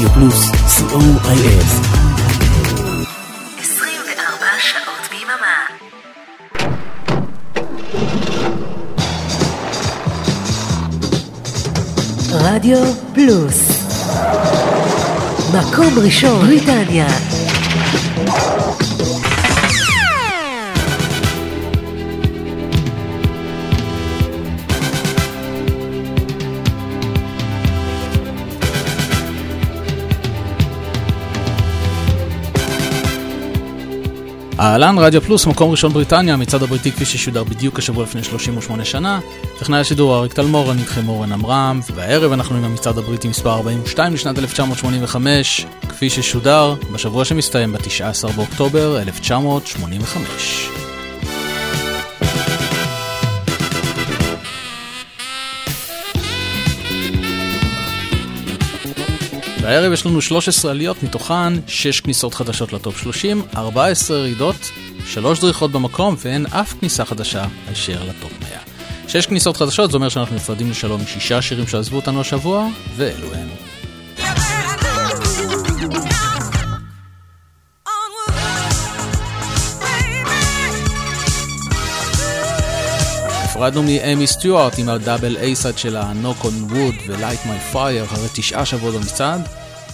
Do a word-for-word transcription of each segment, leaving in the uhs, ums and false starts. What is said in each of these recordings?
רדיו פלוס, סי או איי אס. עשרים וארבע שעות ביממה. רדיו פלוס, מקום ראשון בריטניה. אהלן, רדיו פלוס, מקום ראשון בריטניה, מצד הבריטי כפי ששודר בדיוק השבוע לפני שלושים ושמונה שנה. טכנאי השידור אריק תלמור, אני איתכם אורן עמרם, והערב אנחנו עם המצעד הבריטי מספר ארבעים ושתיים לשנת אלף תשע מאות שמונים וחמש, כפי ששודר בשבוע שמסתיים ב-תשעה עשר באוקטובר אלף תשע מאות שמונים וחמש. בערב יש לנו שלוש עשרה עליות, מתוכן שש כניסות חדשות לטופ שלושים, ארבע עשרה ירידות, שלוש דריכות במקום, ואין אף כניסה חדשה הישר לטופ מאה. שש כניסות חדשות, זה אומר שאנחנו נפרדים לשלום משישה שירים שעזבו אותנו השבוע, ואלו הן. נפרדנו מאמי סטיוארט עם הדאבל אייסייד שלה Knock on Wood ו-Light My Fire אחרי תשעה שבועות במצעד.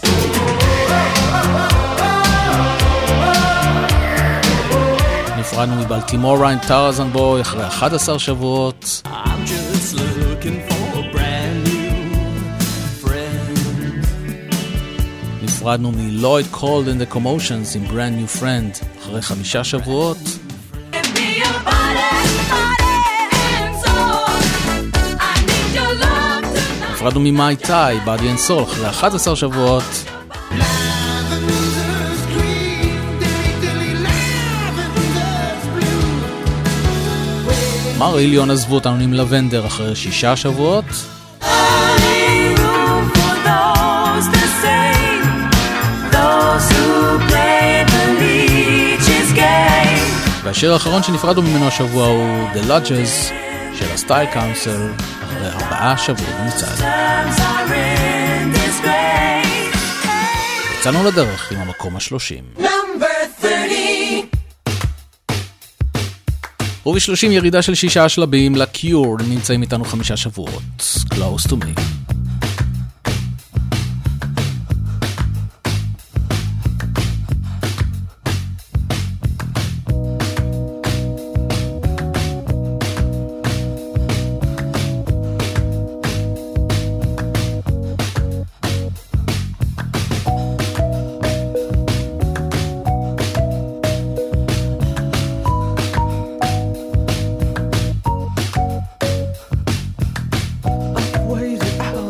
נפרדנו מבלטימורה עם Tarzan Boy אחרי אחד עשר שבועות. I'm just looking for a brand new friend. נפרדנו מ-Lloyd Cole and the Commotions עם Brand New Friend אחרי חמישה שבועות. נפרדנו ממאי טאי, Body and Soul, אחרי אחד עשר שבועות. מריליון עזבו אותנו עם לבנדר אחרי שישה שבועות. והשיר האחרון שנפרדנו ממנו השבוע הוא The Lodges של הסטייל קאונסל אחרי ארבעה שבועות במצעד. יצאנו לדרך עם המקום השלושים. ובשלושים ירידה של שישה שלבים לקיור, נמצאים איתנו חמישה שבועות. Close to me. Waited out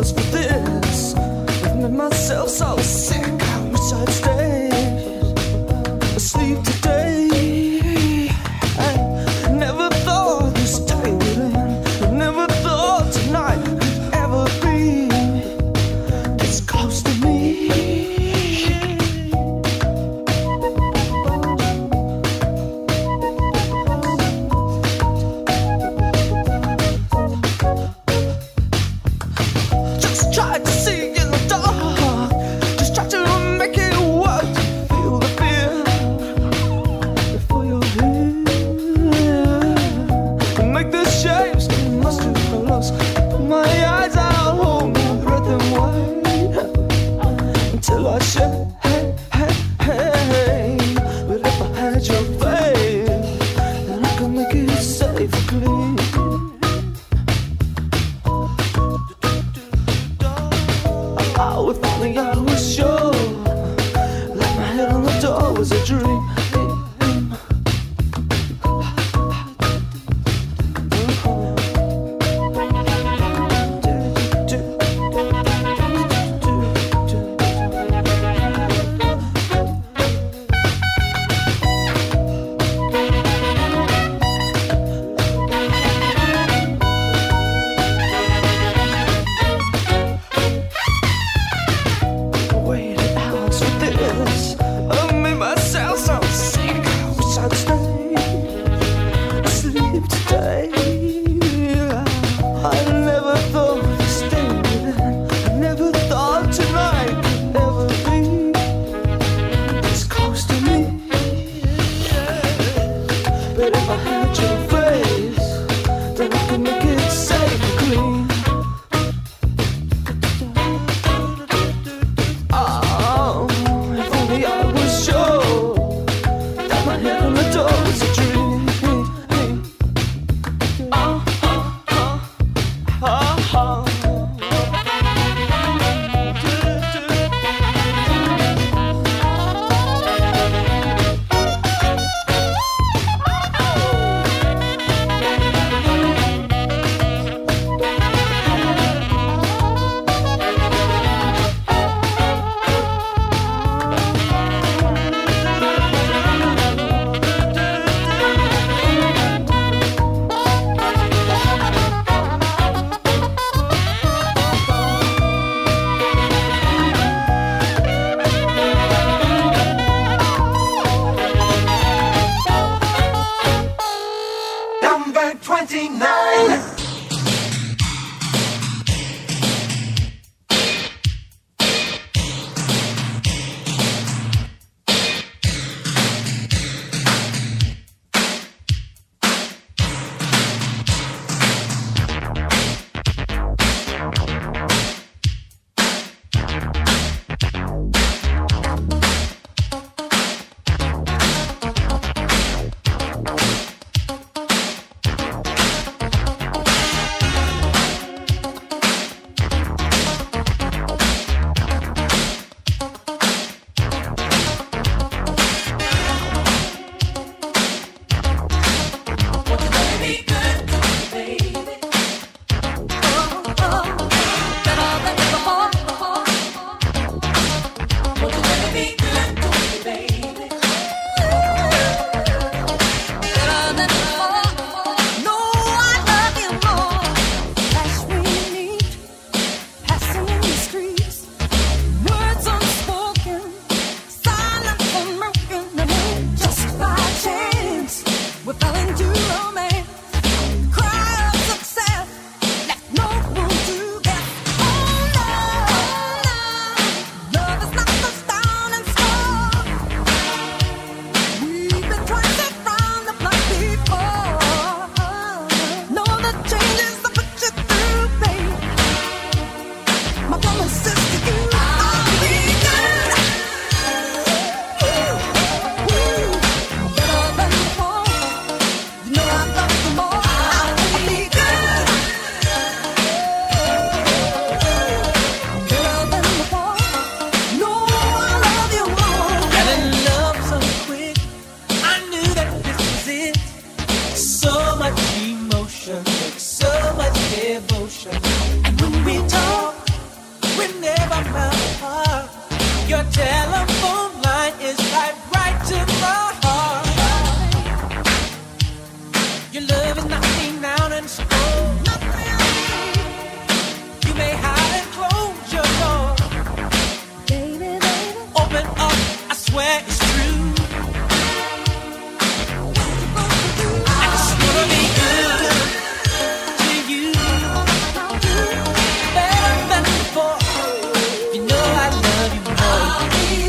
twenty-nine. Better than before, you know I love you more.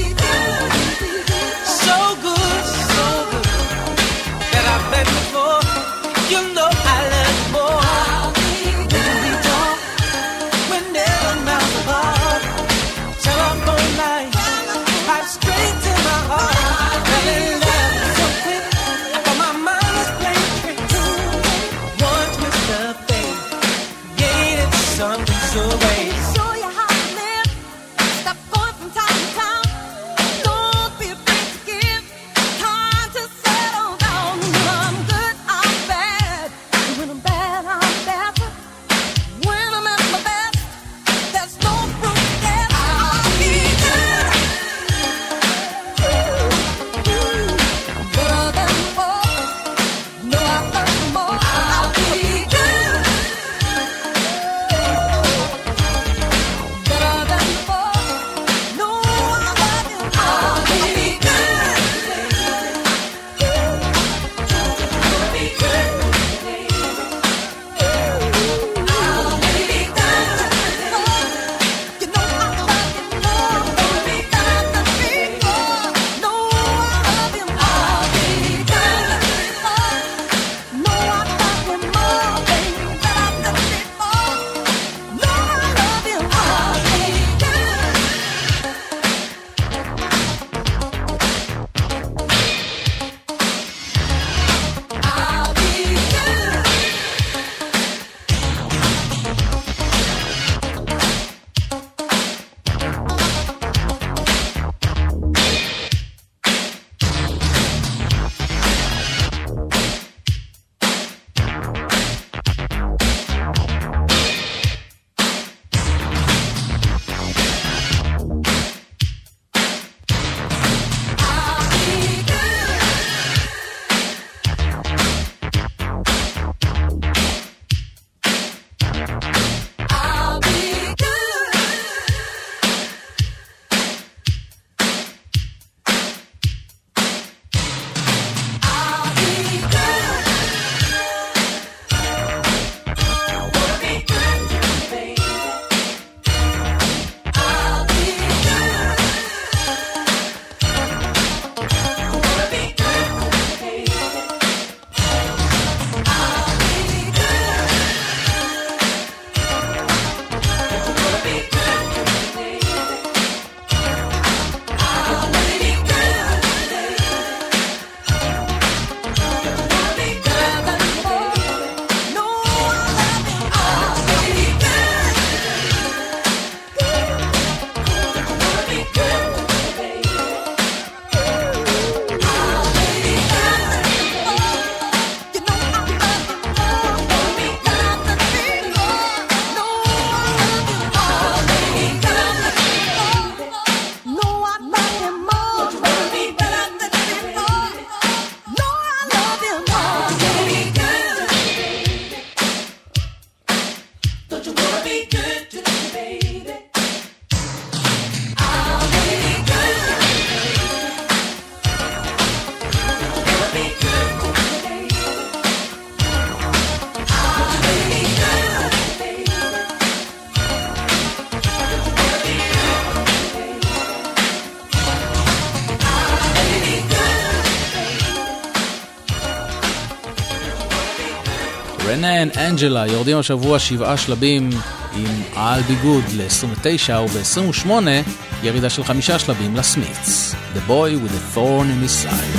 כן, אנג'לה, יורדים השבוע שבעה שלבים עם I'll Be Good ל-עשרים ותשע, וב-עשרים ושמונה ירידה של חמישה שלבים לסמית'ס, The Boy with a Thorn in His Side.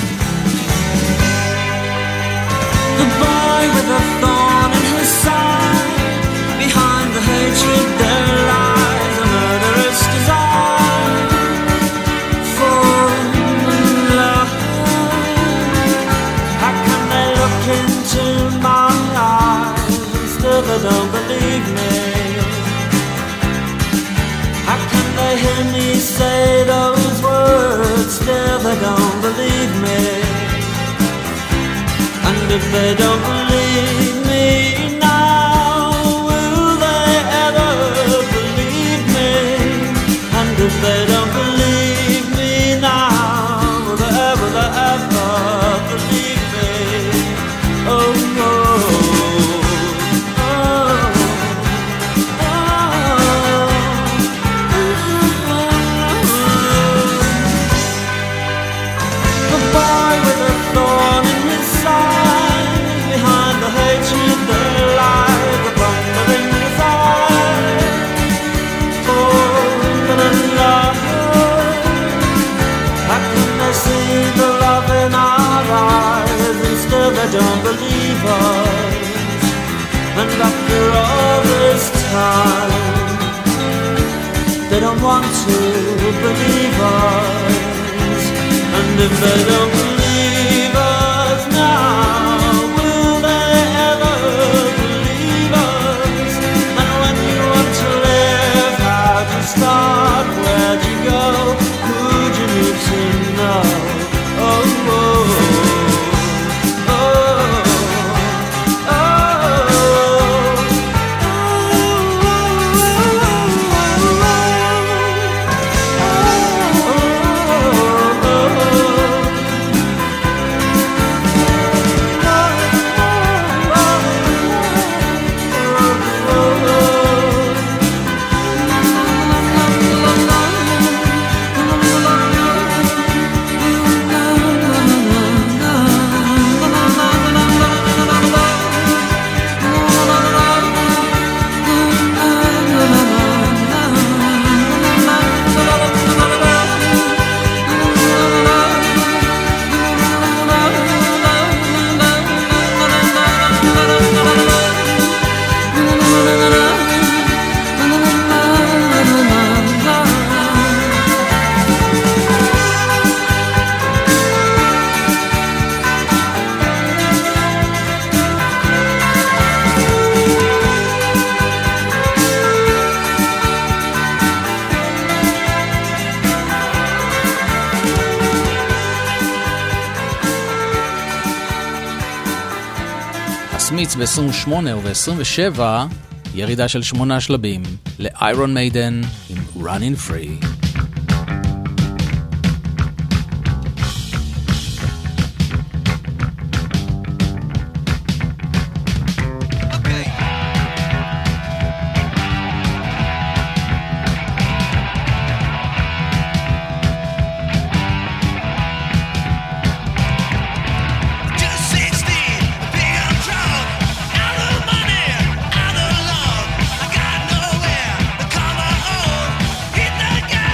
The boy with a thorn in his side, behind the hatred there lies a murderous desire for love. How can they look into my eyes and still they don't believe me? How can they hear me say those words, still they don't believe me? And if they don't believe me now, will they ever believe me? And if they don't believe me now, will they ever, will they ever believe me? Oh, no. They don't believe us, and after all this time they don't want to believe us. And if they don't believe us now, will they ever believe us? And when you want to live, how'd you start? Where'd you go? Who'd you need to know? Oh, oh. ב-עשרים ושמונה וב-עשרים ושבע ירידה של שמונה שלבים ל-Iron Maiden עם Running Free. I got nowhere to call my own. Hit the gas.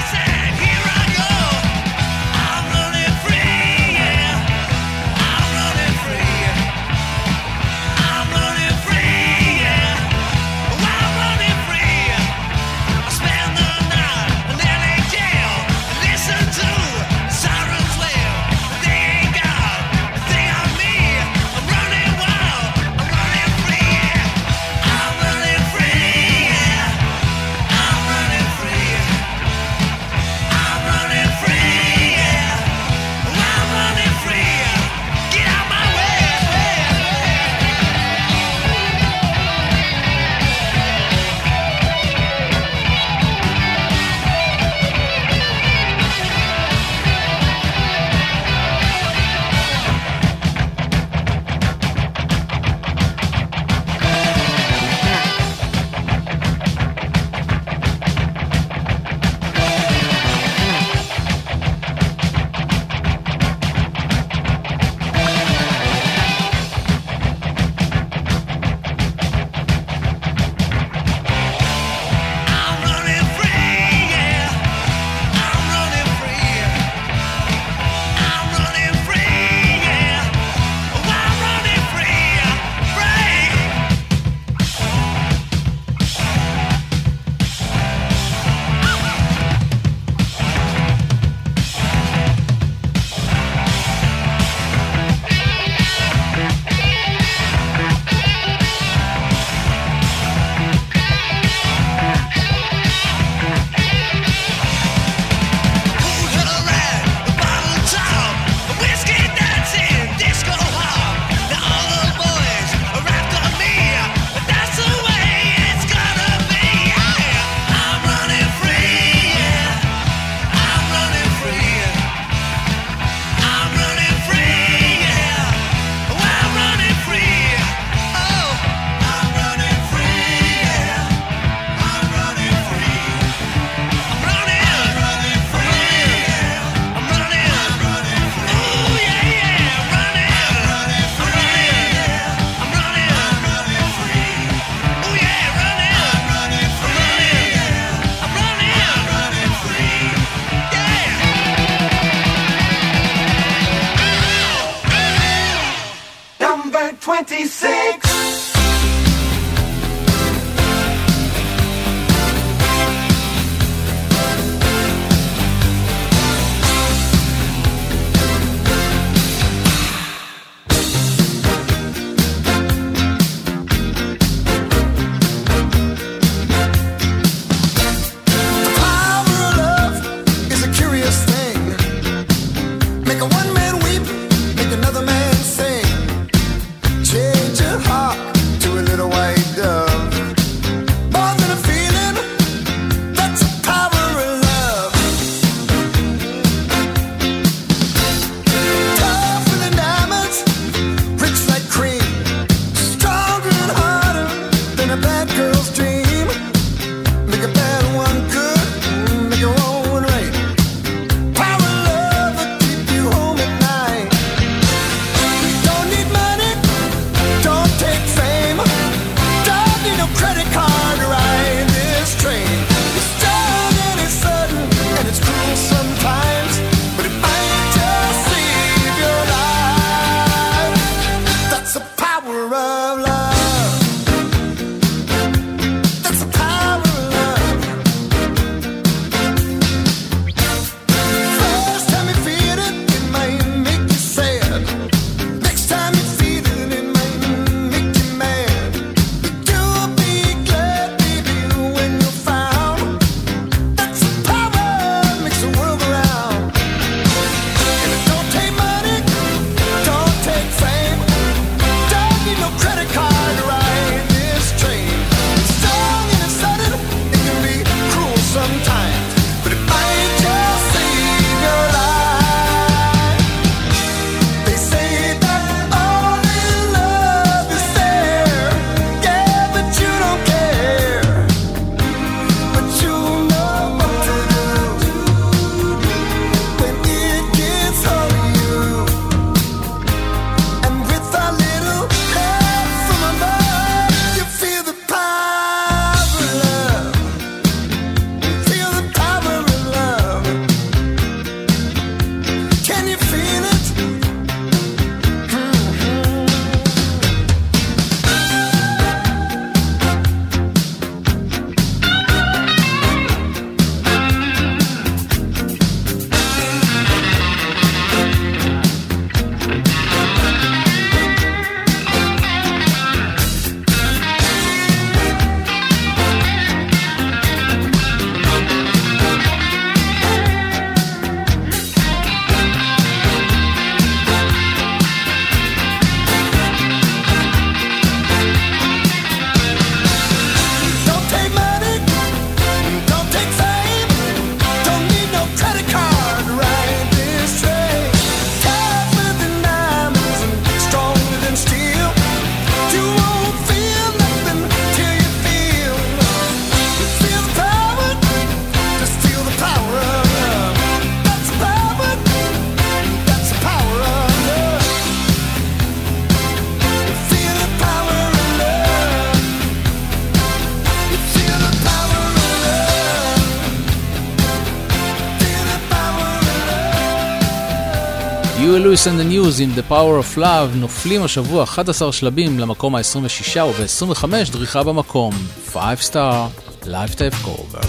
Huey Lewis and the News עם The Power of Love נופלים השבוע אחד עשר שלבים למקום ה-עשרים ושש וב-עשרים וחמש דריכה במקום. five star Lifetime Cover.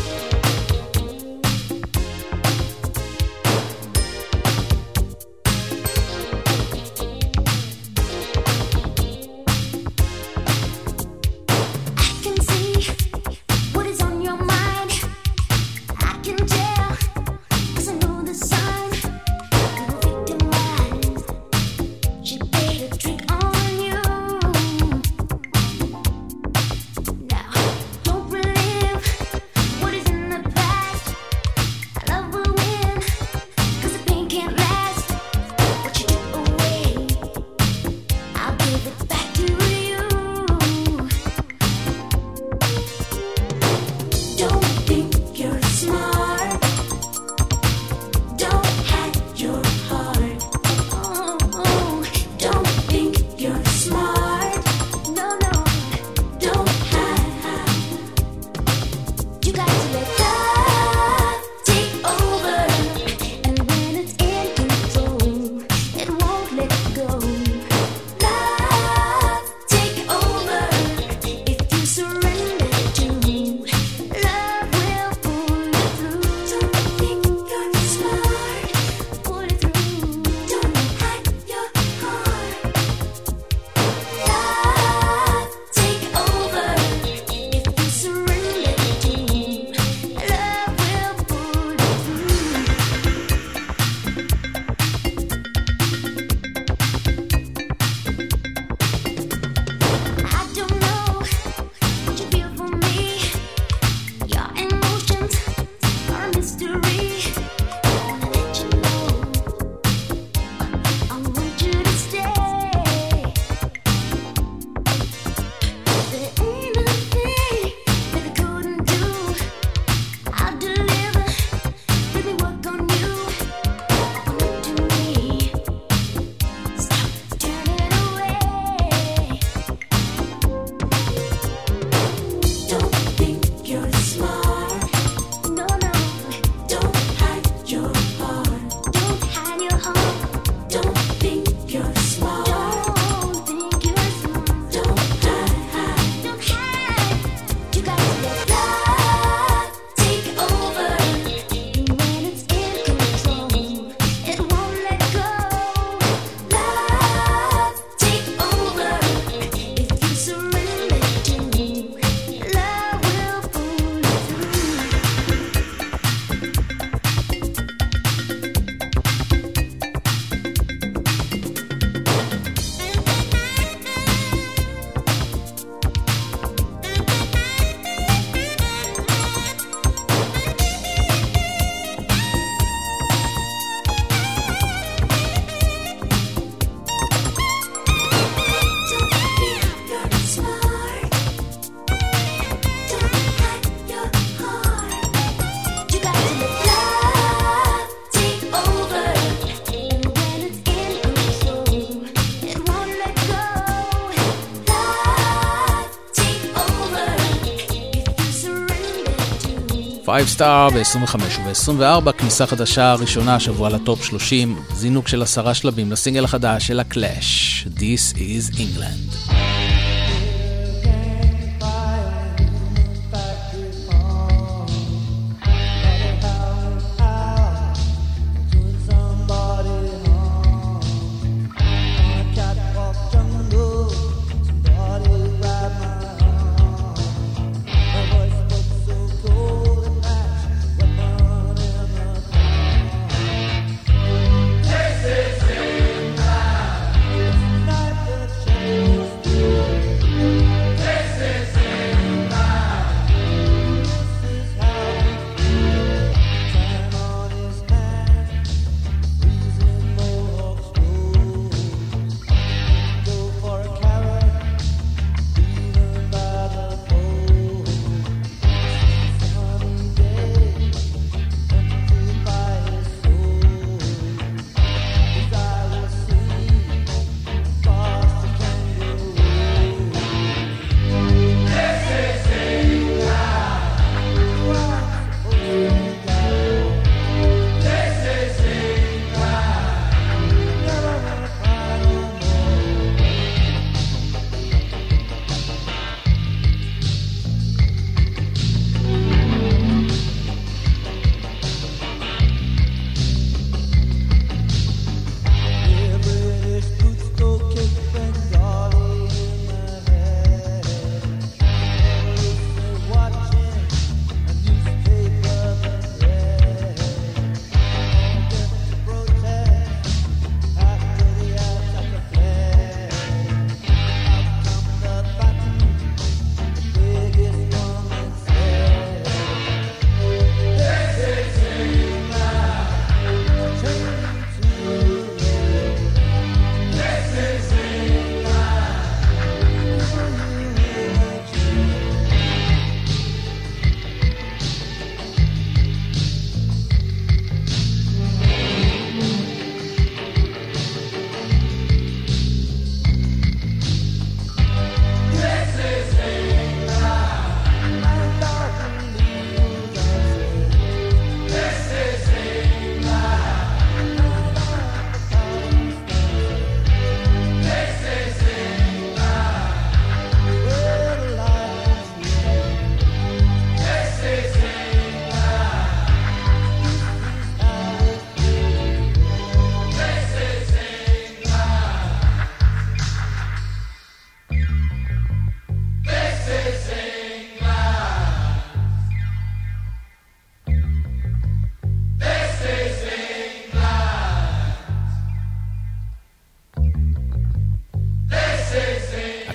five star ב-עשרים וחמש וב-עשרים וארבע כניסה חדשה ראשונה השבוע לטופ שלושים, זינוק של עשרה שלבים לסינגל החדש של הקלאש, This is England. This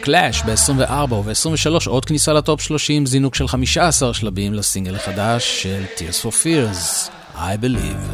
קלאש ב-עשרים וארבע וב-עשרים ושלוש עוד כניסה לטופ שלושים, זינוק של חמישה עשר שלבים לסינגל החדש של Tears for Fears, I Believe.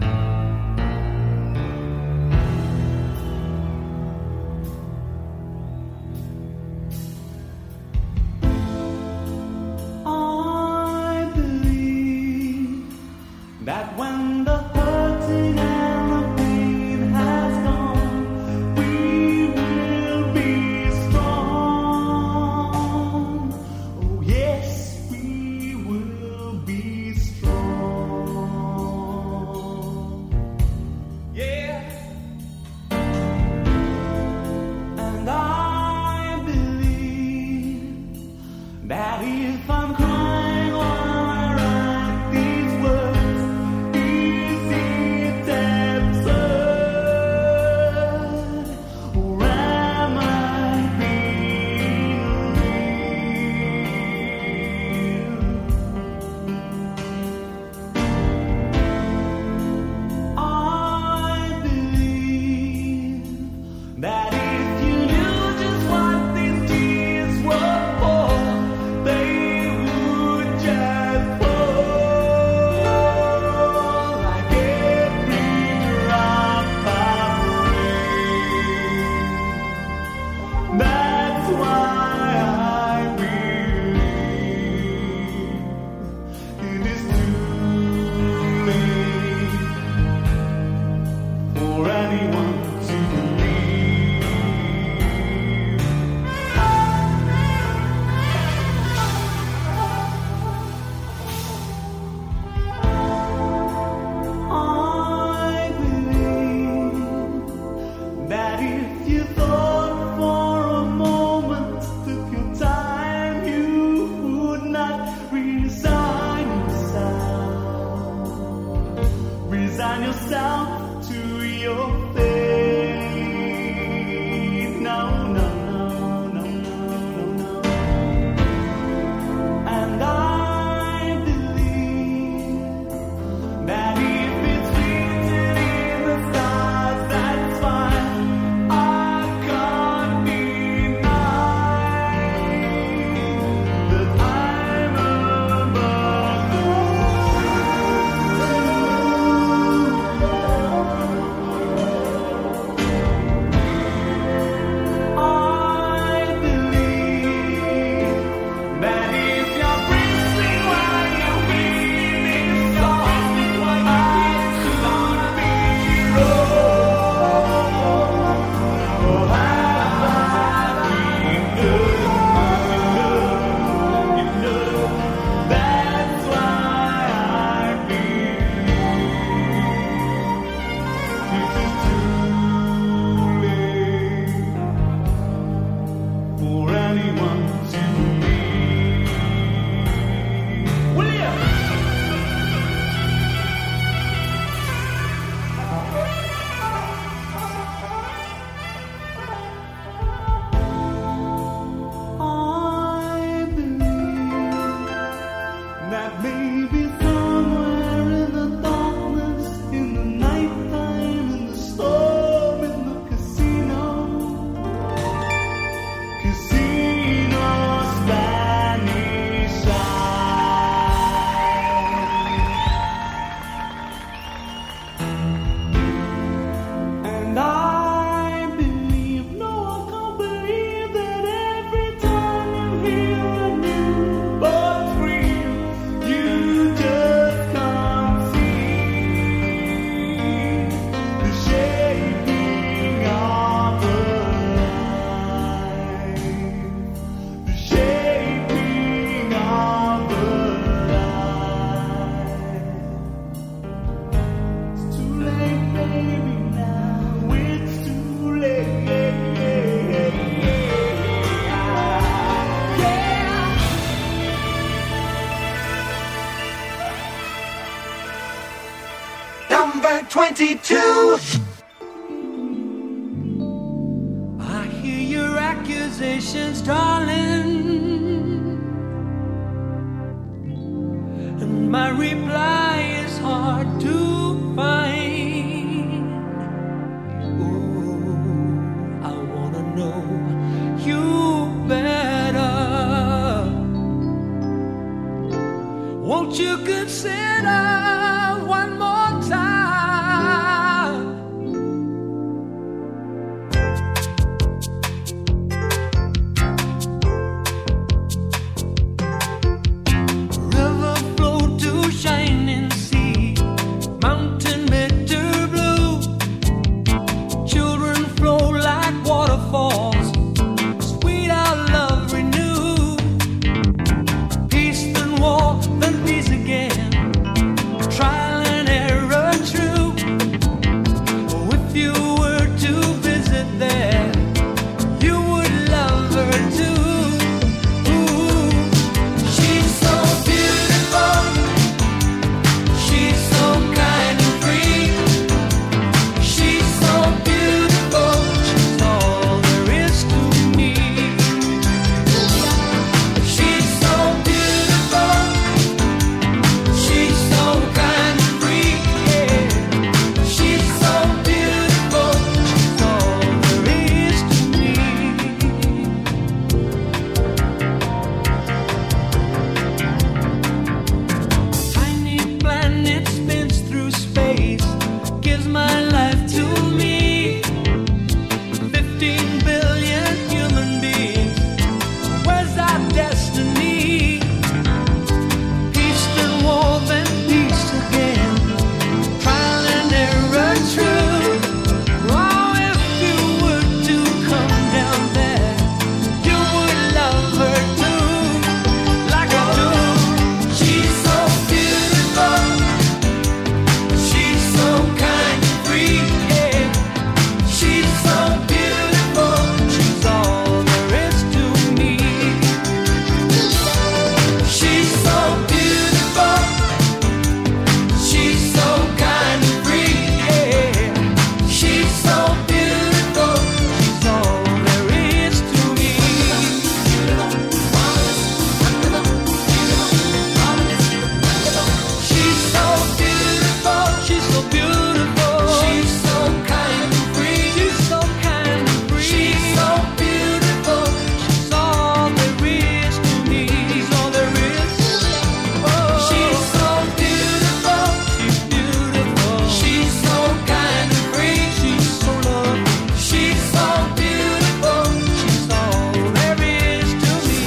twenty-two. I hear your accusations, darling, and my reply is hard to find. Oh, I wanna know you Won't you consider one more time? River flow to shining sea, mountain bitter blue. Children flow like waterfalls, sweet our love renew. Peace then war, then peace again. Trial and error true. If you were to visit there, you would love her too. Ooh, she's so beautiful. She's so kind and free. She's so beautiful. She's all there is to me. She's so beautiful. She's so kind and free. Yeah. She's so beautiful. She's all there is to me. Tiny planet spins through space, gives my life to me. Fifteen billion human beings, where's our destiny? Peace then war, then peace again. Trial and error true. Oh, if you were to come down there, you would love her too, like I do. She's so beautiful. She's so kind and free. Yeah. She's so beautiful. She's all there is to me. She's so beautiful. She's so kind and free. Yeah. She's so beautiful. She's all there is to me. She's so beautiful. She's so beautiful. She's so kind and free. She's so kind and free. She's so beautiful. She's all there is to me. She's all there is. Oh. She's so beautiful. She's beautiful. She's so kind and free. She's so lovely. She's so beautiful. She's all there is to me.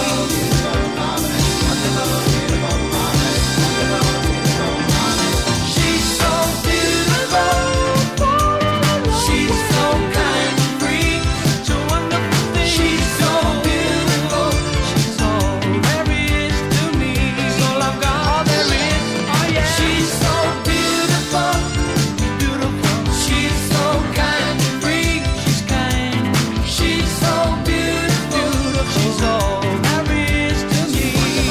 She's so beautiful. She's so kind and free. Such a wonderful thing. She's so beautiful. She's all there is to me. She's all I've got. All there is. Oh yeah. She's so beautiful. Beautiful. She's so kind and free. She's kind. She's so beautiful. She's all there is to me.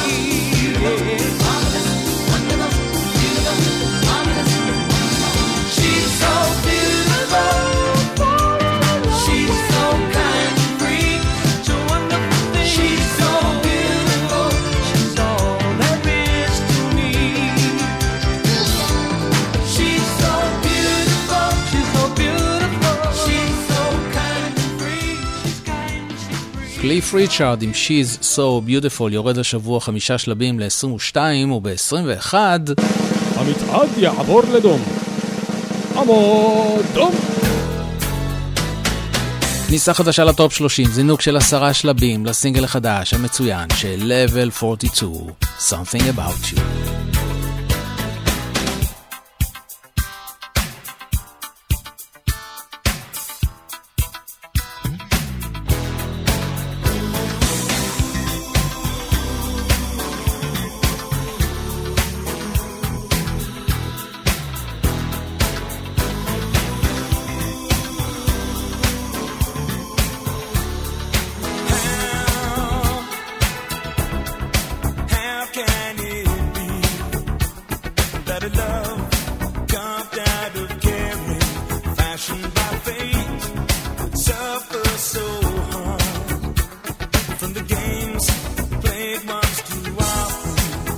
She's so beautiful. She's so kind and free. Such a wonderful thing. She's so beautiful. She's all there is to me. She's so beautiful. She's so beautiful. She's so kind and free. She's kind, she's free. קליף ריצ'ארד עם She's So Beautiful יורד השבוע חמישה שלבים ל-עשרים ושתיים, וב-עשרים ואחת המצעד יעבור לדום. עמוד דום. כניסה חדשה לטופ שלושים, זינוק של עשרה שלבים לסינגל החדש המצוין של Level ארבעים ושתיים, Something About You. How can it be that a love carved out of caring, fashioned by fate, would suffer so hard from the games played once too often,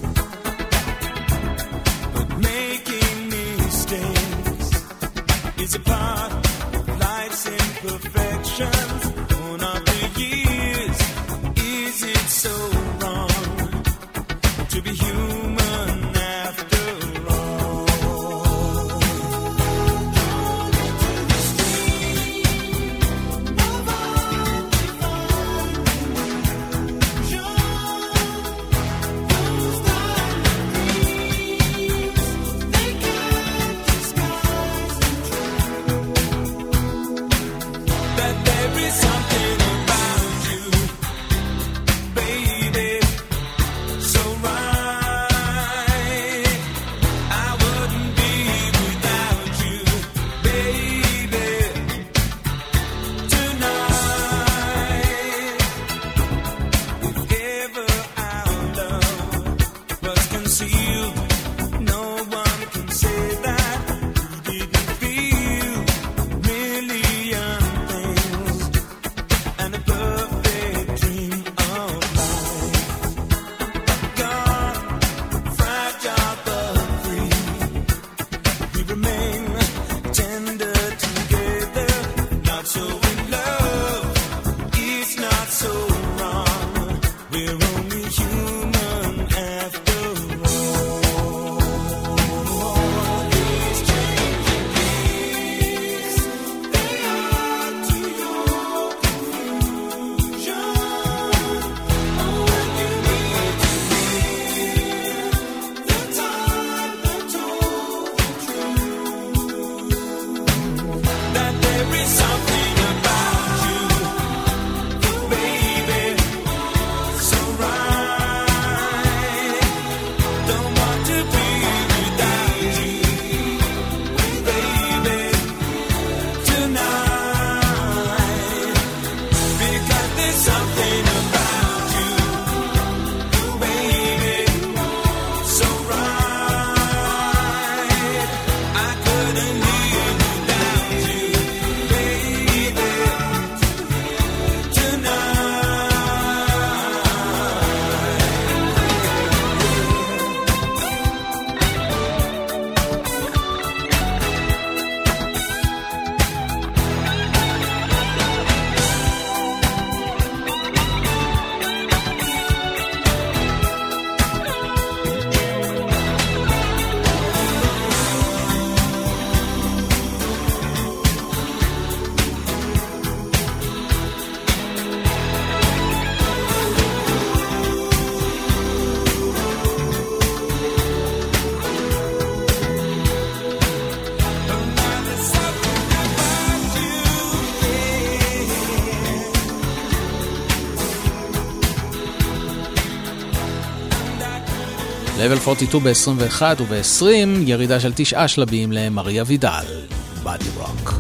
but making mistakes is a part of life's imperfections. One of the years, is it so wrong to be human? לבל ארבעים ושתיים ב-עשרים ואחת וב-עשרים ירידה של תשעה שלבים למריה וידל, בדי רוק.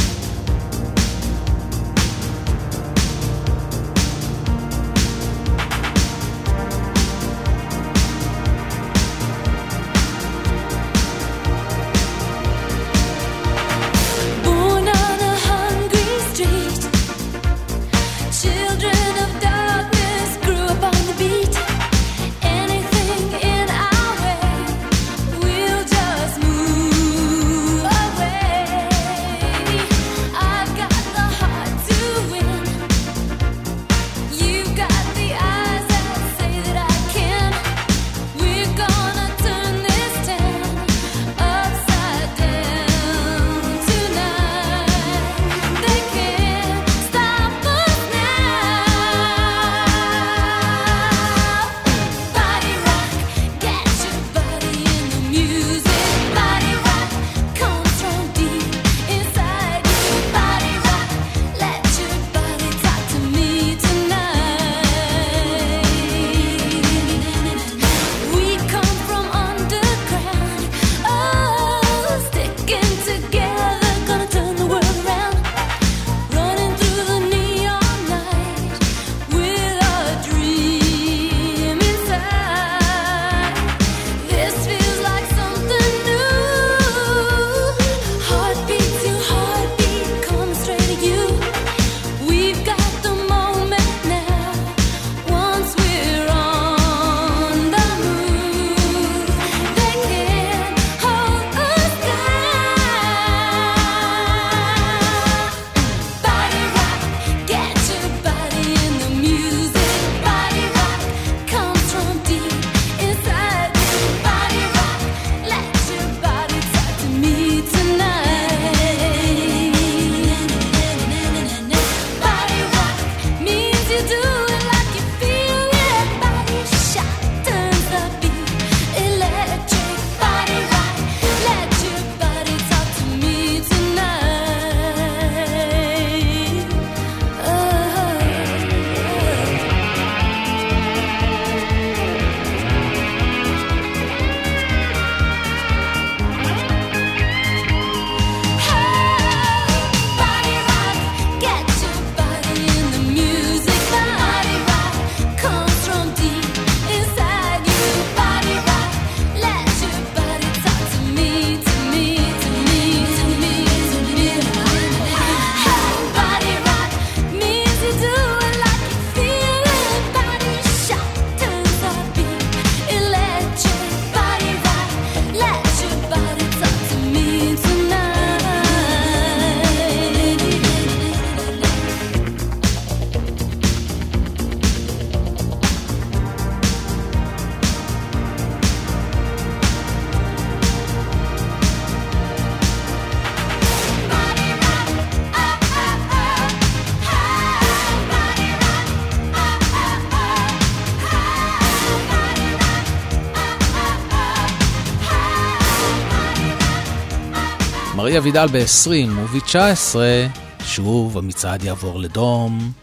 מריה וידל ב-עשרים וב-תשע עשרה שוב המצעד יעבור לדום.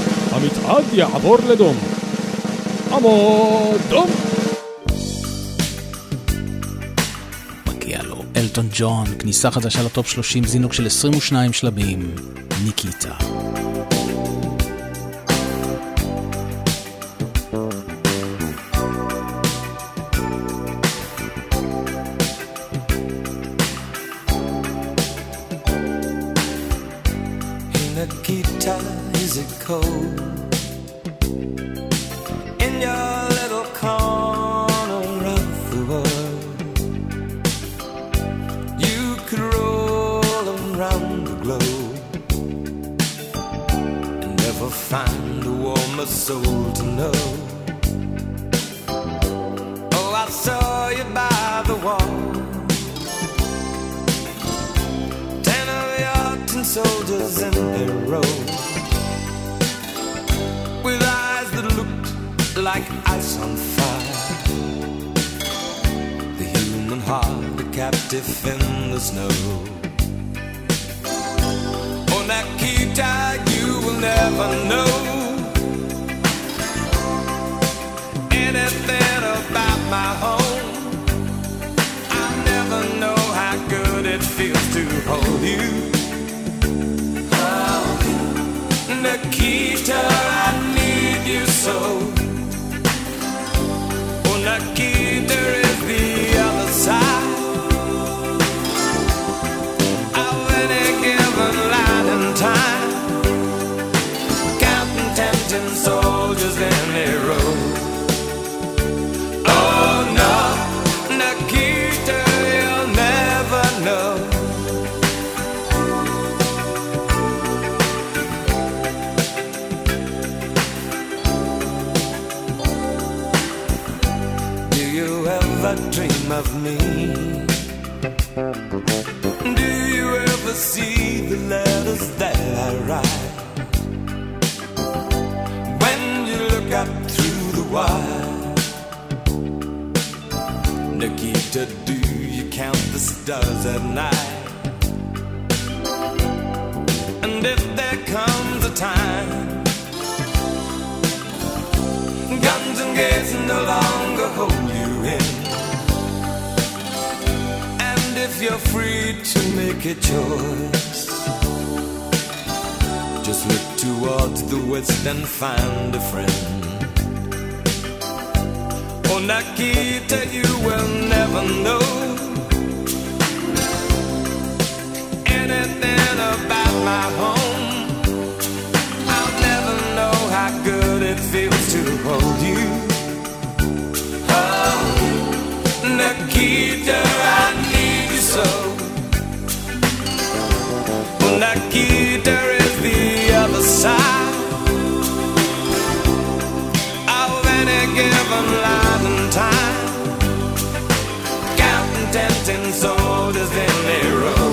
המצעד יעבור לדום. עמוד דום. מגיע לו אלטון ג'ון, כניסה חדשה לטופ שלושים, זינוק של עשרים ושניים שלבים, ניקיטה. Nikita, is it cold in your little corner of the world? You could roll around the globe and never find a warmer soul to know. Oh, I saw you by the wall, ten of your tin soldiers in their row, with eyes that looked like ice on fire. The human heart, a captive in the snow. Oh, Nikita, you will never know anything about my home. hold you. Oh, Nikita, I need you so. Oh, Nikita is the other side of any given line in time, counting tempting soldiers in a row. Oh no, Nikita, you'll never know. Do you ever dream of me? Do you ever see the letters that I write? When you look up through the wire, Nikita, do you count the stars at night? And if there comes a time guns and gates no longer hold you in, and if you're free to make a choice, just look towards the west and find a friend. Oh, Nikita, you will never know anything about my home. I'll never know how good it feels to hold you. Oh, Nikita, I need you so. Oh, Nikita is the other side of any given line in time, counting tempting soldiers in a row.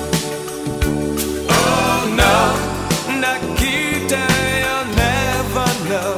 Oh no, Nikita, you'll never know.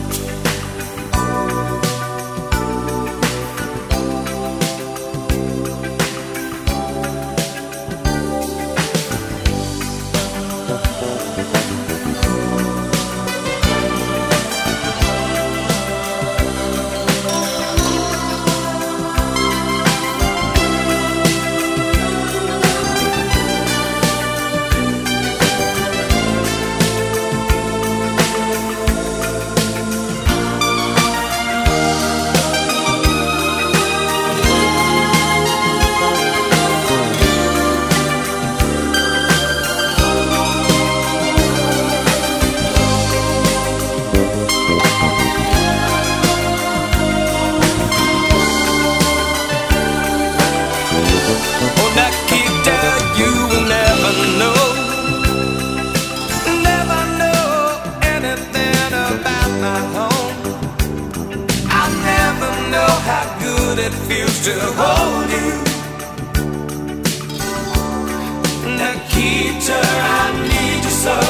It feels to hold you. Nikita, I need you so.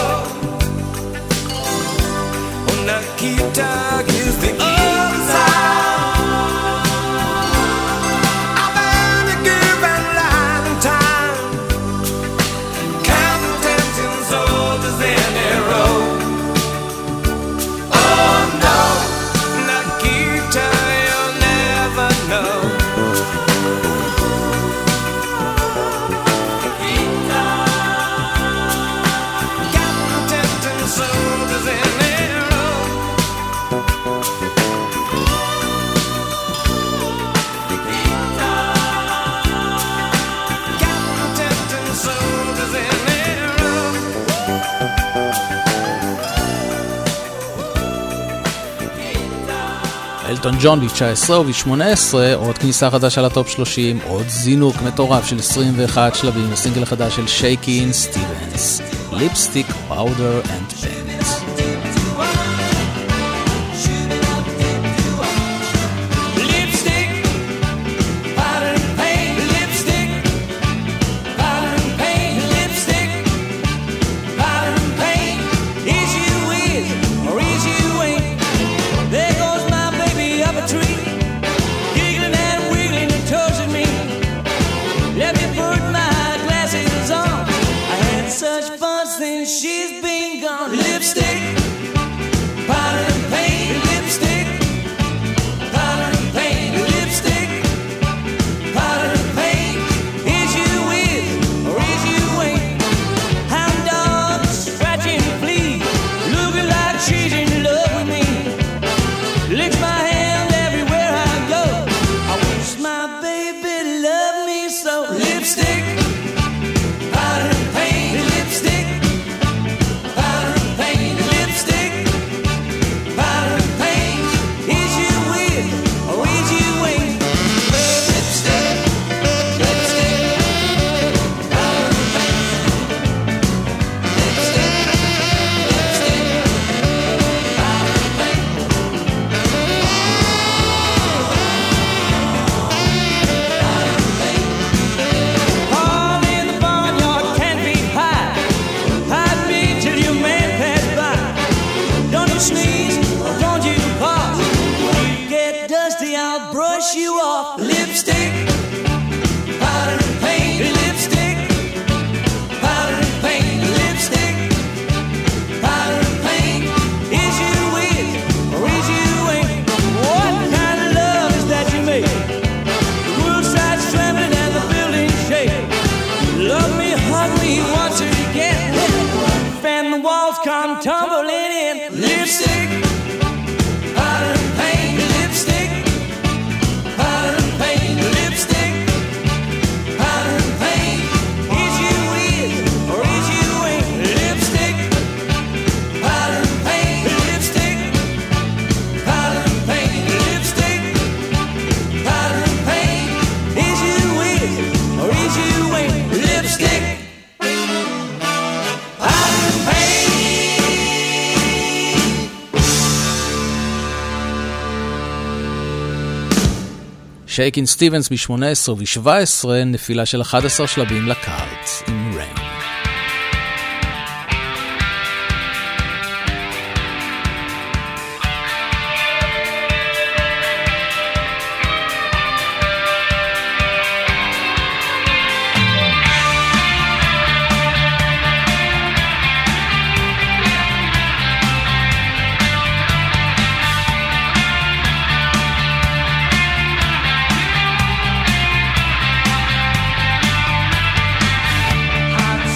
Oh, Nikita is the other side of any given line in time, counting tempting soldiers in a row. Oh no, Nikita, you'll never know. אלטון ג'ון ב-תשע עשרה וב-שמונה עשרה עוד כניסה חדשה לטופ שלושים, עוד זינוק מטורף של עשרים ואחד שלבים, הסינגל החדש של שייקין סטיבנס, ליפסטיק, פאודר אנד פנט. Such fun since she's been gone. I'll brush you off. Lipstick, powder and paint. Lipstick, powder and paint. Lipstick, powder and paint. Is you with or is you ain't? What kind of love is that you make? The world side's trembling and the building shake. Love me, hug me, once again. Fan the walls come tumbling in. Lipstick, powder and paint. Lipstick, powder and paint. Lipstick, powder and paint. Is you with or is you ain't? Lipstick, powder and paint. Lipstick, powder and paint. Lipstick, powder and paint. Is you with or is you ain't? Lipstick, powder and paint. שייקין סטיבנס ב-שמונה עשרה וב-שבע עשרה, נפילה של אחד עשר שלבים לקארט עם ריין. Hot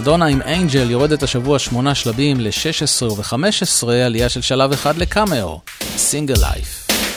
מדונה עם אנג'ל יורדת השבוע שמונה שלבים ל-שש עשרה ו-חמש עשרה, עלייה של שלב אחד לקאמאו, סינגל לייף.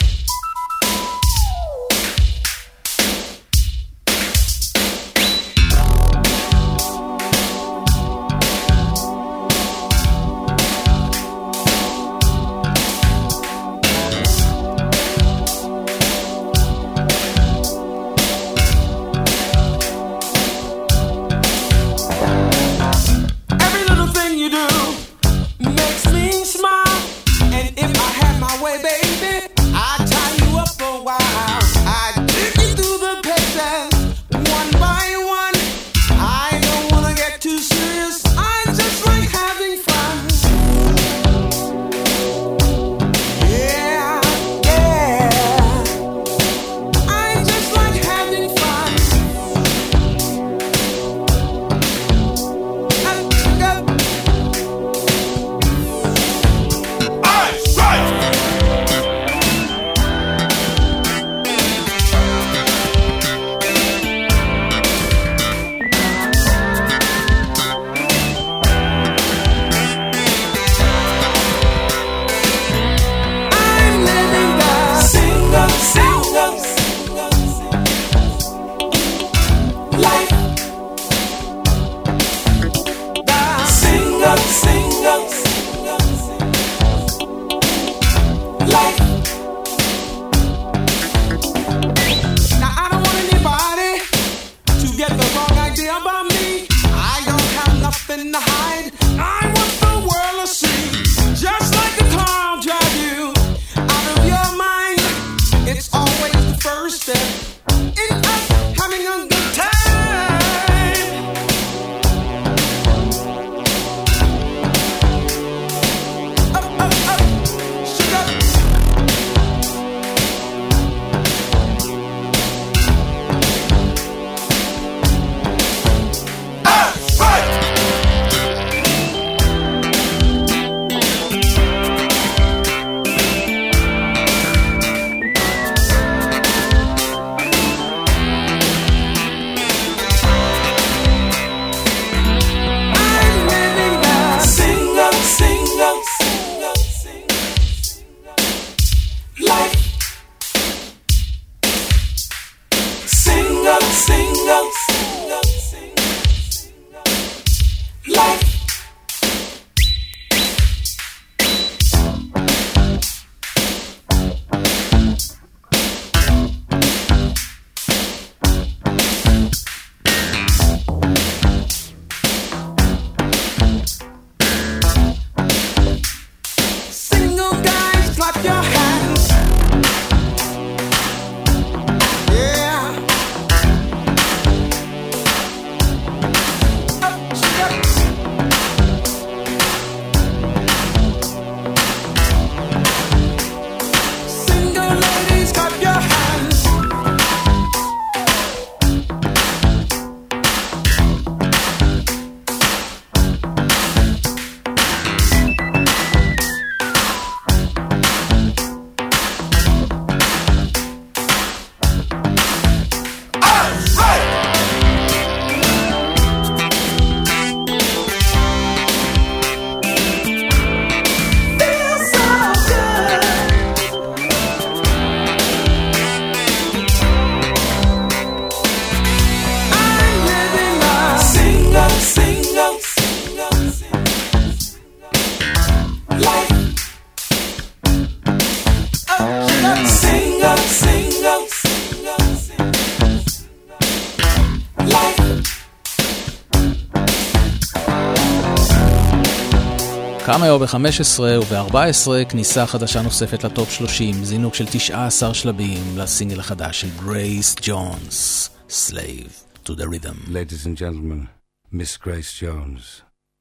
קאמאו ב-חמש עשרה וב-ארבע עשרה כניסה חדשה נוספת לטופ שלושים, זינוק של תשעה עשר שלבים לסינגל החדש של גרייס ג'ונס, Slave to the Rhythm. Ladies and gentlemen, Miss Grace Jones,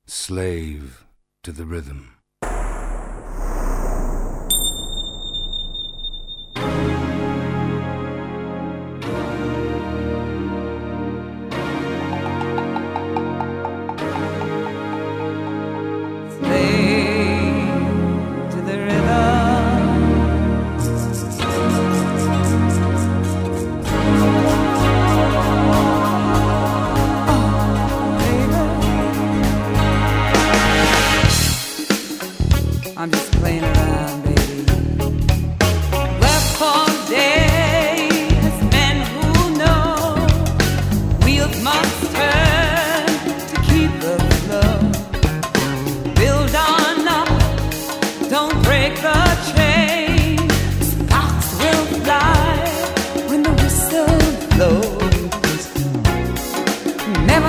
Slave to the Rhythm. Baby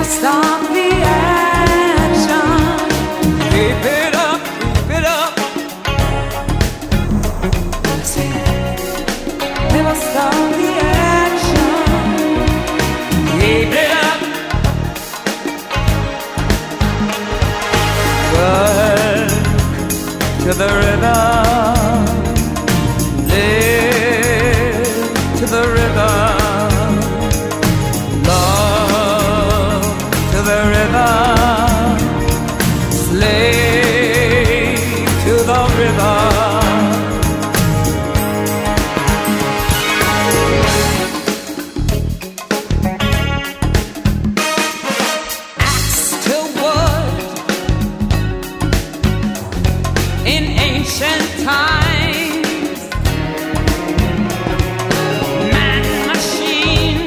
stop the action. Keep it up, keep it up. Never stop the action. Keep it up. Work to the rhythm. Live to the rhythm. Slave to the river. Axe to wood in ancient times. Man machine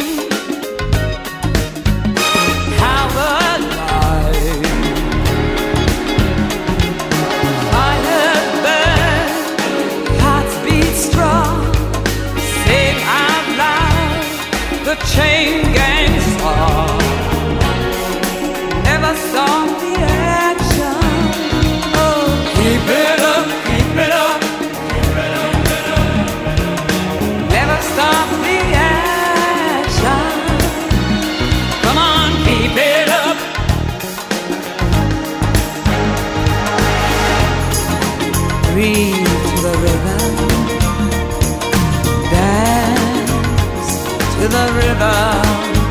powered life. The chain gang song. Never stop the action. Oh, keep it up, keep it up, keep it up, keep it up. Never stop the action. Come on, keep it up. Breathe to the rhythm. Dance to the rhythm,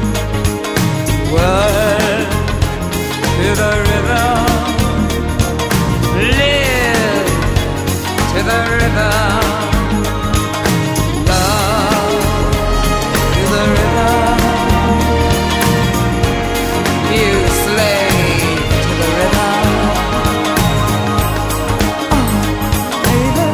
work to the rhythm, live to the rhythm, love to the rhythm, you slave to the rhythm. Oh, baby.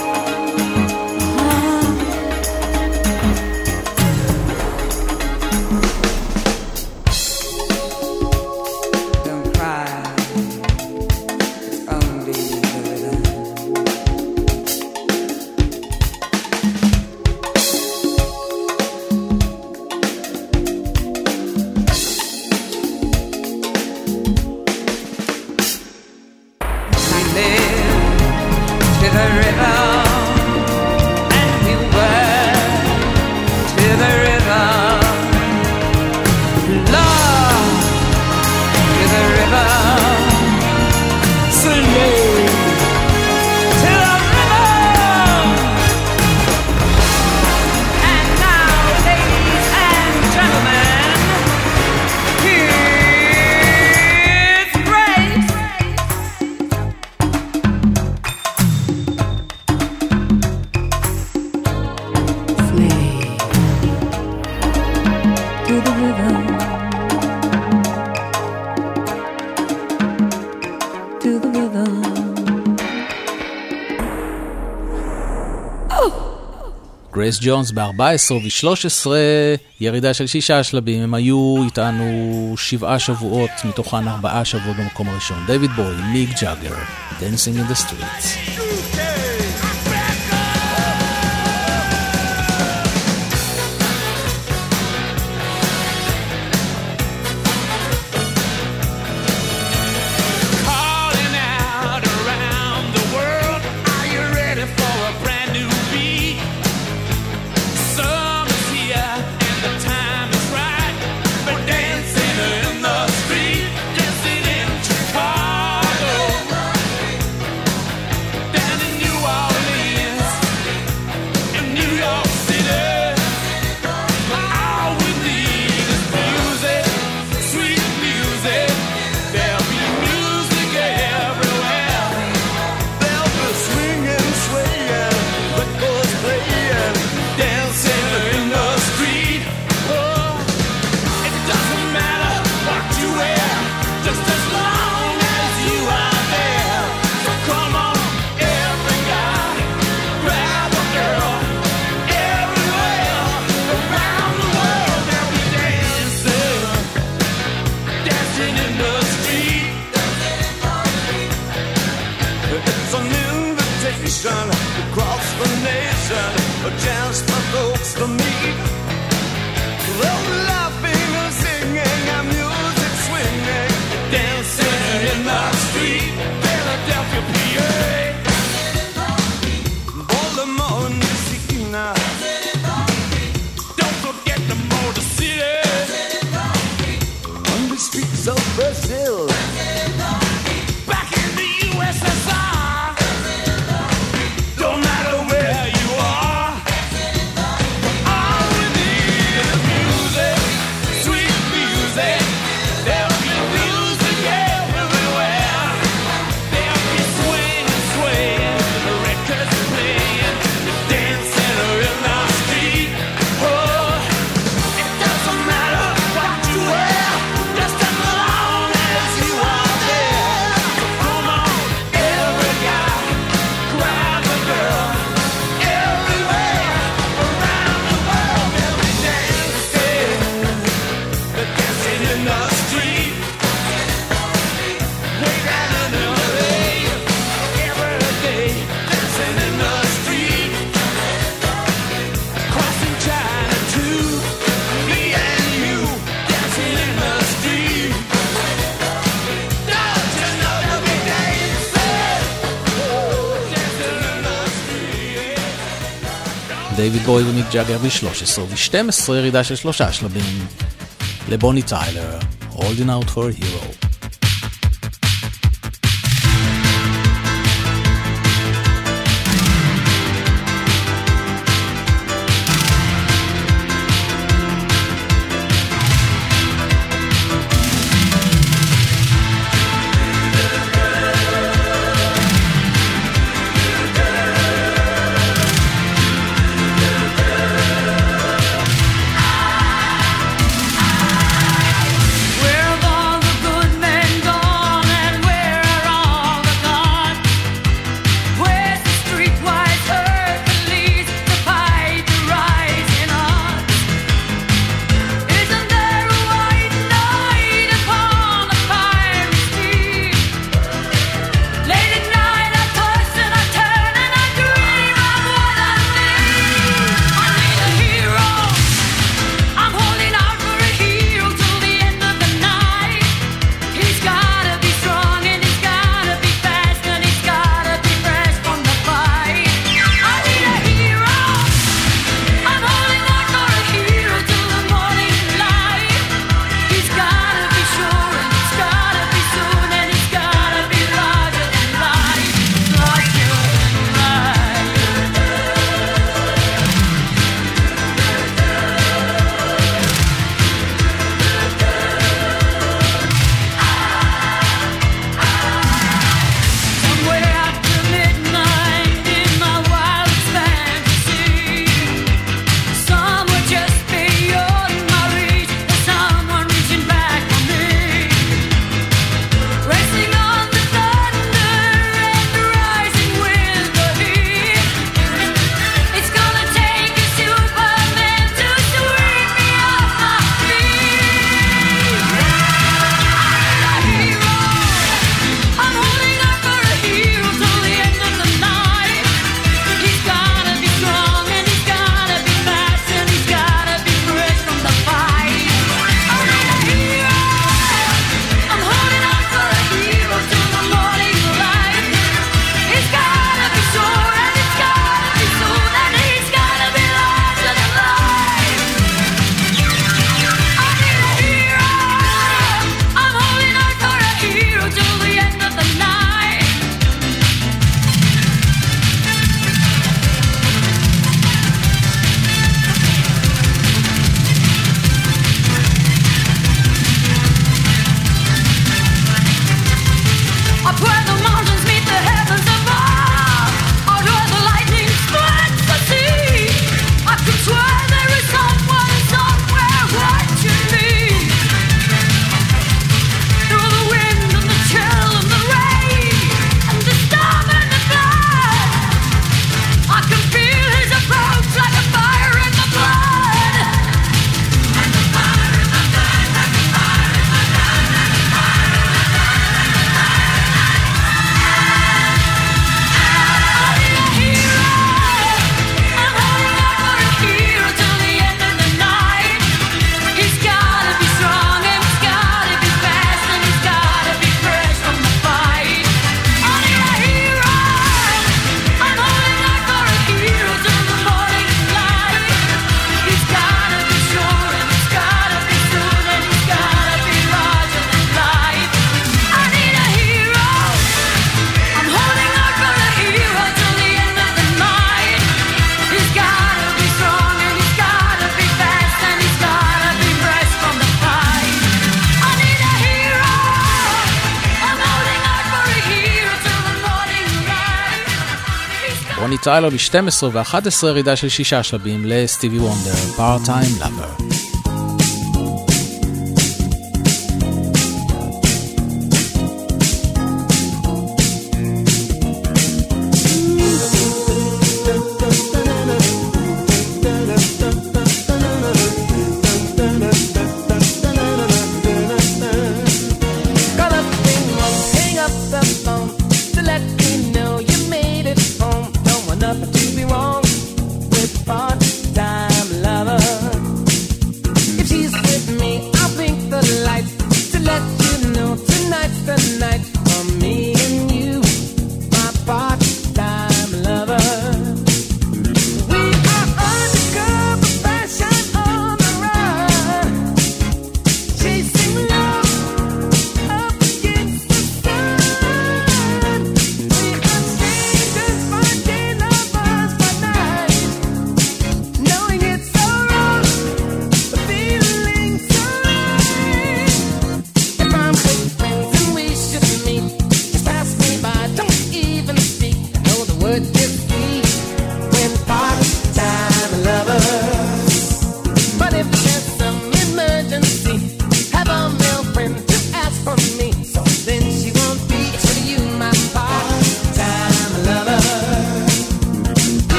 גרייס ג'ונס ב-ארבע עשרה ו-שלוש עשרה, ירידה של שישה שלבים. הם היו איתנו שבעה שבועות, מתוכן ארבעה שבועות במקום הראשון. דיוויד בוי, מיק ג'אגר, Dancing in the Streets. folks to meet. Well, laughing and singing and music דייוויד בוי ומיק ג'אגר ב-שלוש עשרה ו-שתים עשרה, ירידה של שלושה שלבים לבוני טיילר, Holding Out for a Hero. בוני טיילר ב-שתים עשרה ו-אחת עשרה, ירידה של שישה שלבים לסטיבי וונדר, Part-Time Lover. To be wrong with part-time lover.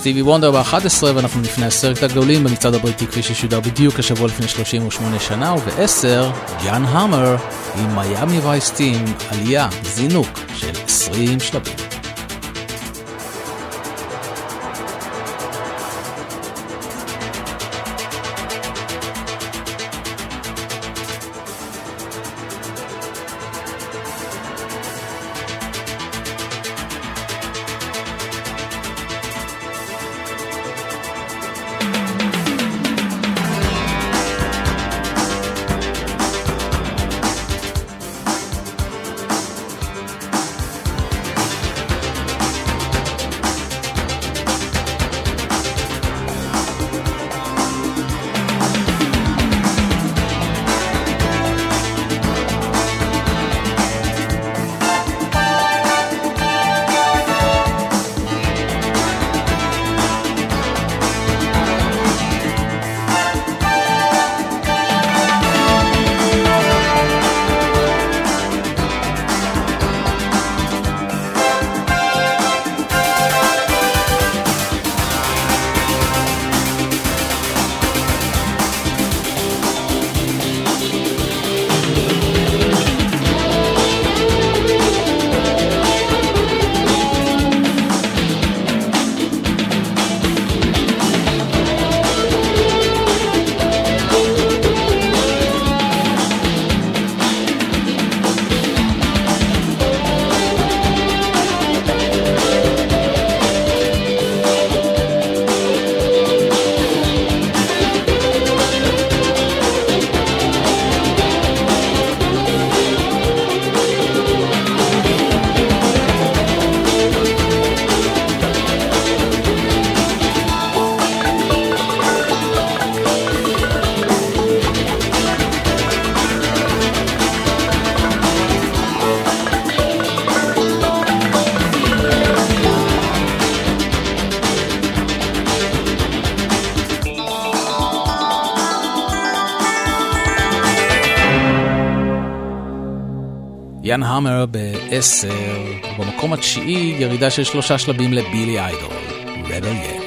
סטיבי וונדר ב-אחת עשרה, ואנחנו לפני הסרט הגדולים במצעד הבריטי כפי ששודר בדיוק השבוע לפני שלושים ושמונה שנה, וב-עשר ג'אן המר עם מיאמי וייס טים, עלייה, זינוק של עשרים שלבים. יאן המר בעשר, ובמקום התשיעי ירידה של שלושה שלבים לבילי איידול, רבל יל.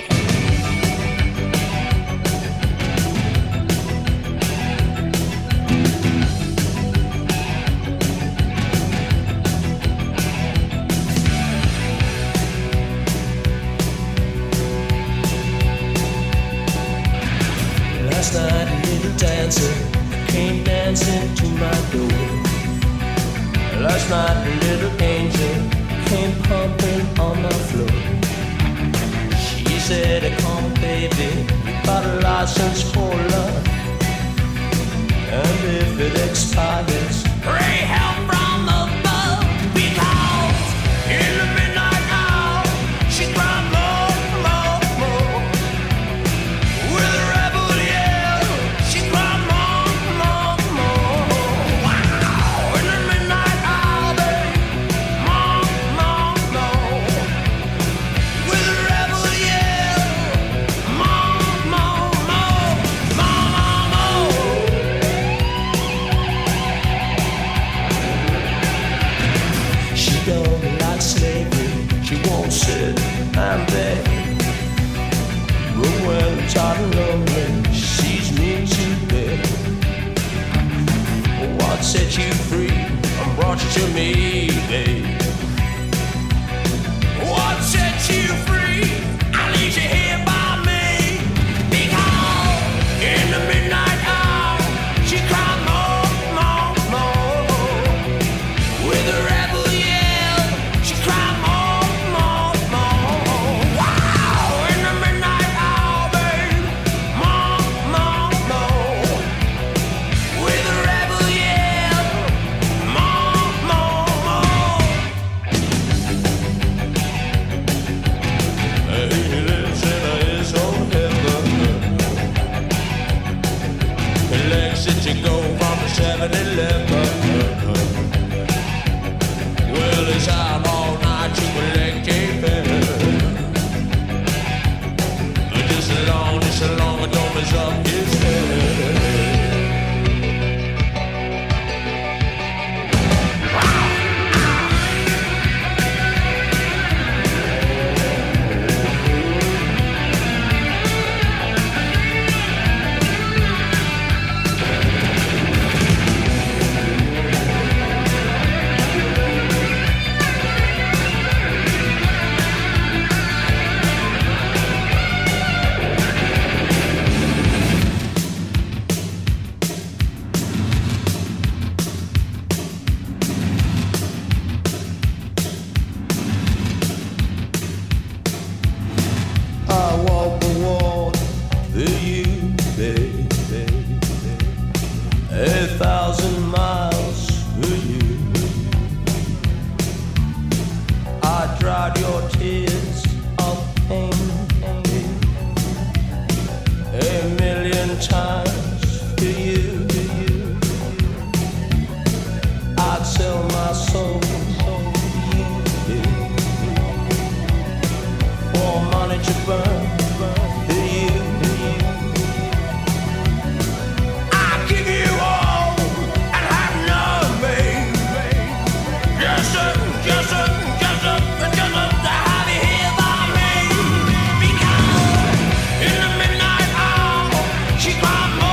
Last night a little dancer came dancing to my door. Last night a little angel came pumping on the floor. She said, come baby, we got a license for love, and if it expires, pray help from above. Because in the midnight hour she cried more, more, more. With a rebel yell she cried more, more, more. Wow, in the midnight hour, babe, more, more, more. With a rebel yell, more, more, more, more, more, more. She don't like slavery, she won't sit and beg. But when I'm tired and lonely, she sees me to bed. What set you free and brought you to me, babe? What set you free? I leave you here by me. Because in the midnight hour, she cried more, more, more. With a rebel yell, she cried more, more, more. Wow, in the midnight hour, babe, more, more, more. With a rebel yell, more, more, more. He lives in his own heaven. He likes it to go from the seven eleven. Well, he's out all night to collect a pen. Just as long, just as long as don't mess up his head. thousand miles for you. I dried your tears of pain a million times for you. I'd sell my soul for money to burn for you. I'd give you all and have nothing. Just a, just a, just a, just a to have you here by me. Because in the midnight hour, she cried.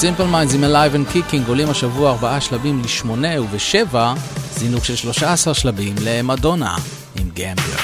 Simple Minds עם Alive and Kicking עולים השבוע ארבעה שלבים לשמונה, ובשבע זינוק של שלושה עשר שלבים למדונה עם גמבלר.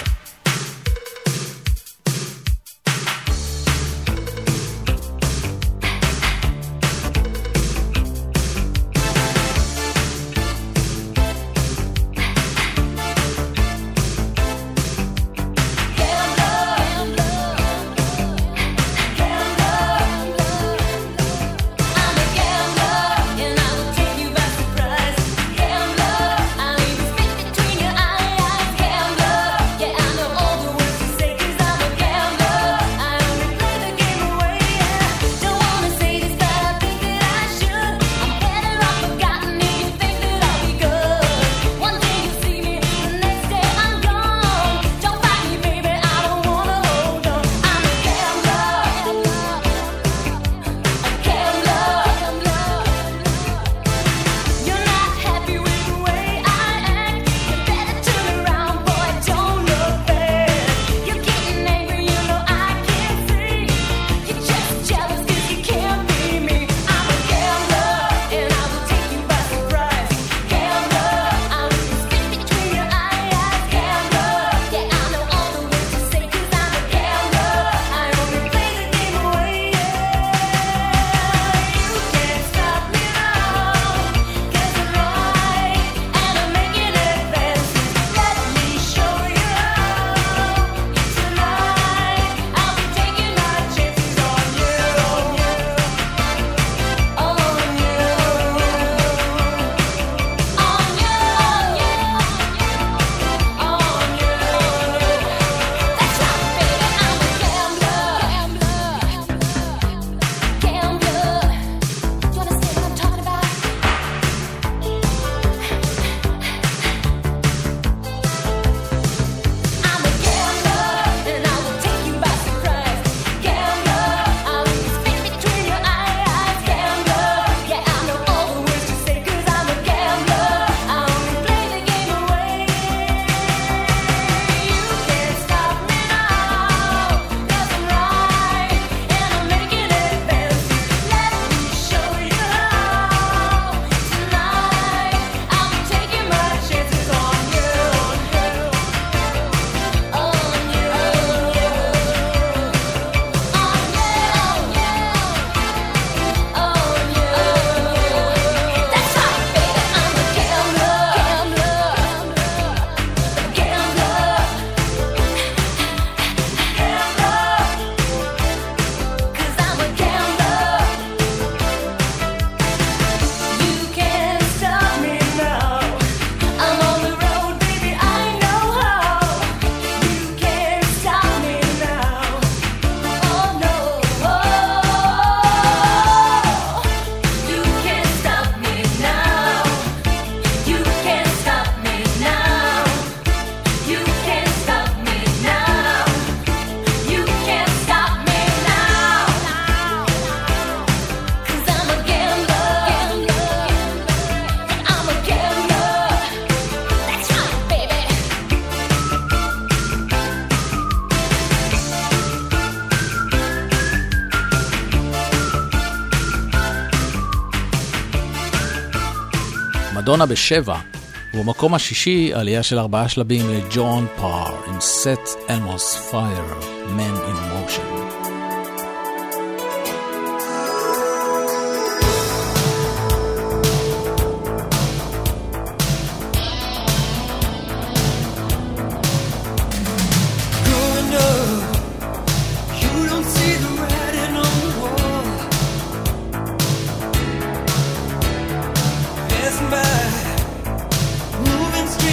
מדונה בשבע, ובמקום השישי עלייה של ארבעה שלבים לג'ון פאר עם Set Elmo's Fire, Man in Motion.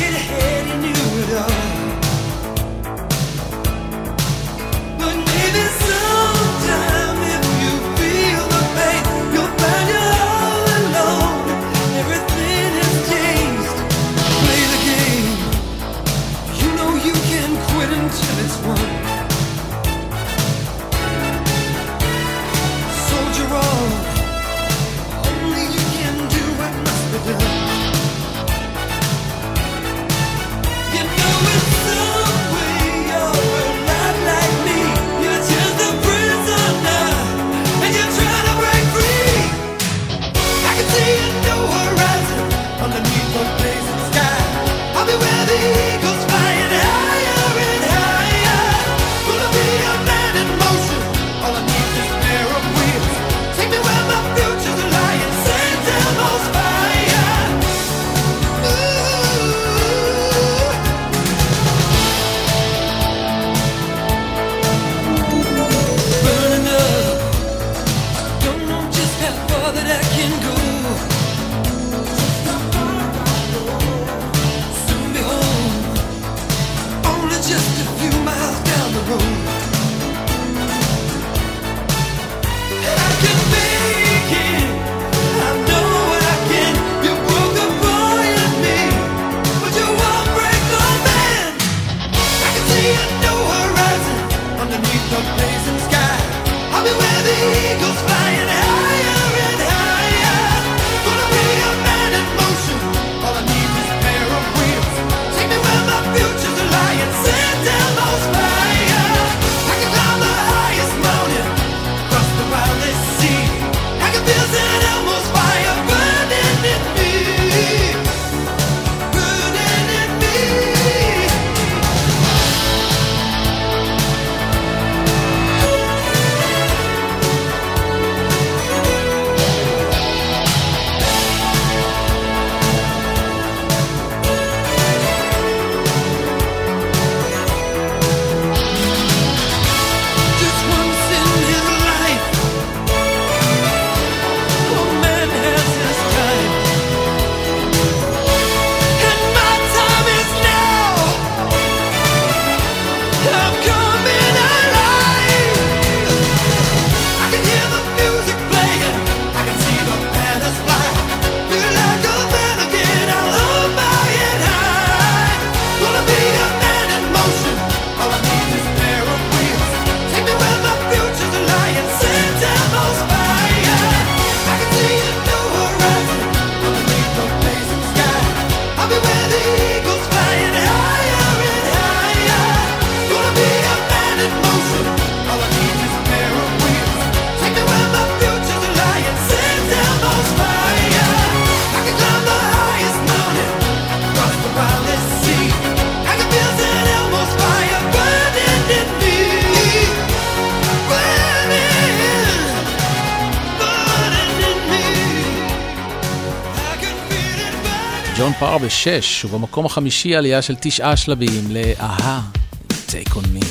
But maybe ג'ון פאר בשש, ובמקום החמישי עלייה של תשעה שלבים לאהה, Take on me.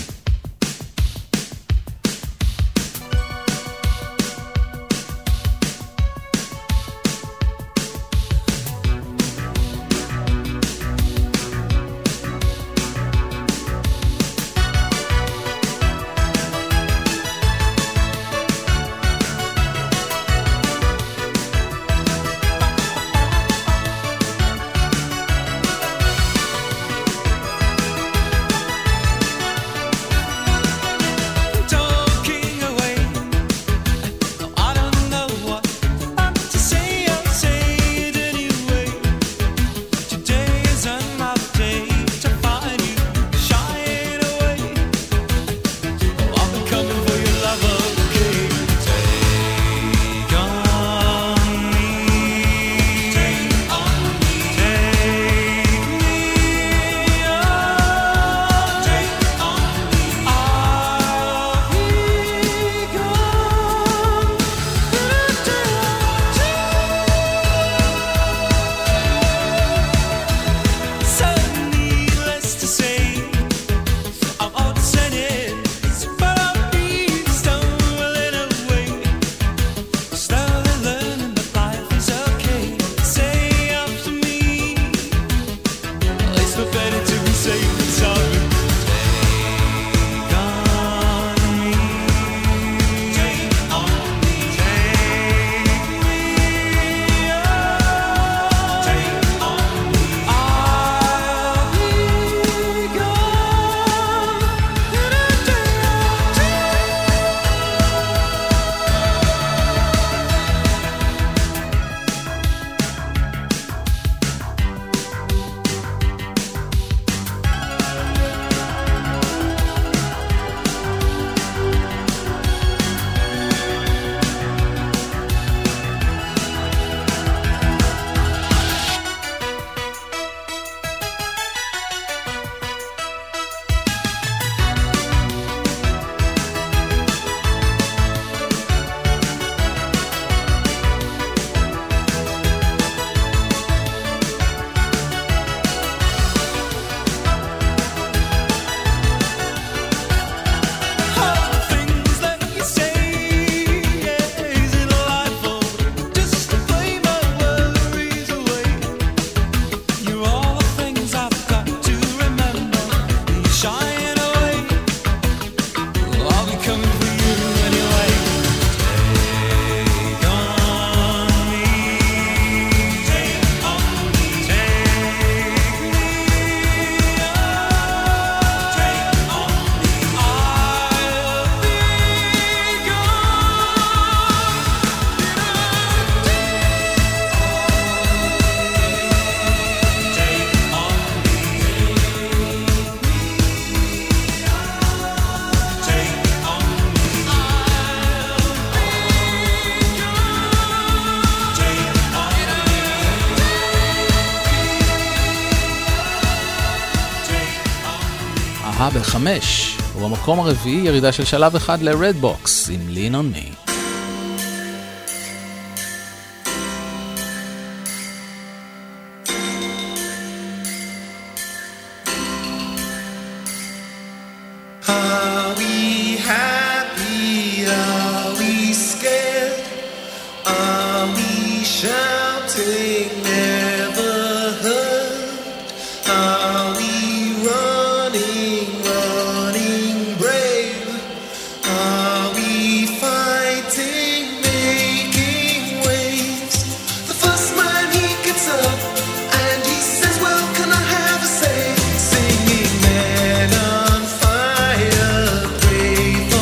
בחמש, ובמקום הרביעי ירידה של שלב אחד ל-Redbox עם Lean on Me.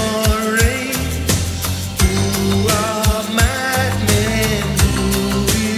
Who are madmen? Who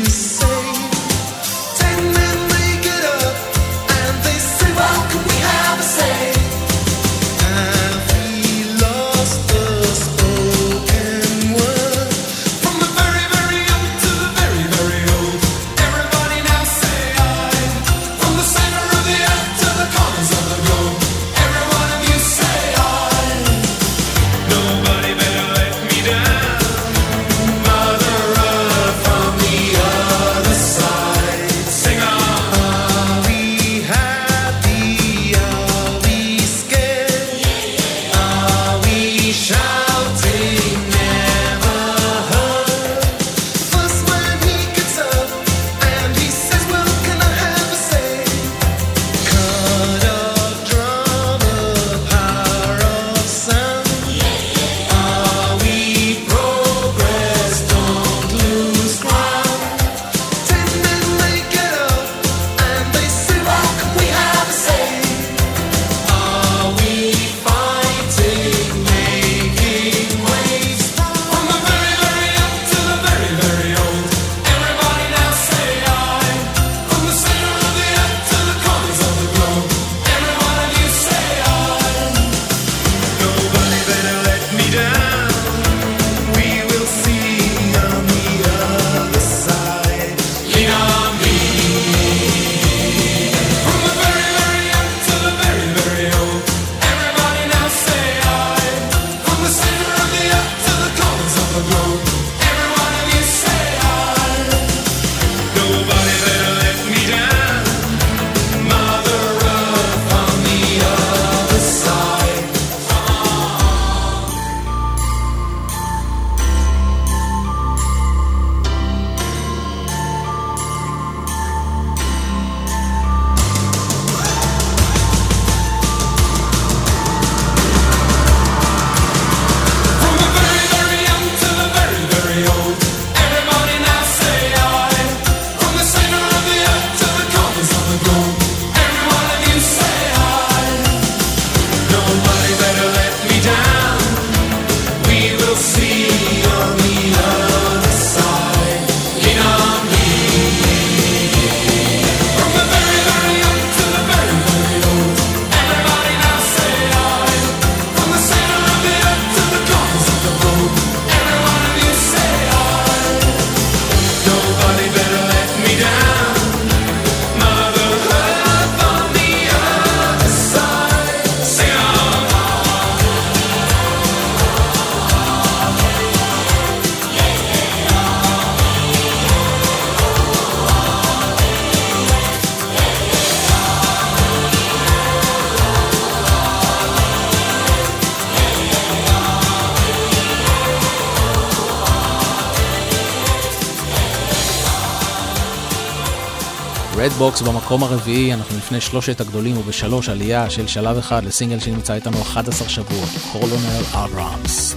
רדבוקס במקום הרביעי, אנחנו לפני שלושת הגדולים ובשלוש עלייה של שלב אחד לסינגל שנמצא איתנו אחד עשר שבועות, קולונל אברהמס.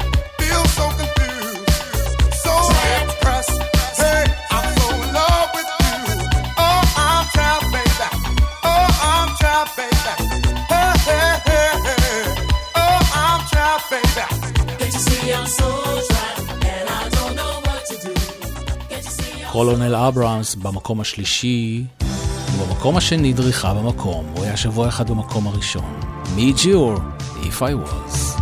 So קולונל אברהמס במקום השלישי, ובמקום השני דריכה במקום, הוא היה שבוע אחד במקום הראשון. מיג'יור, If I Was.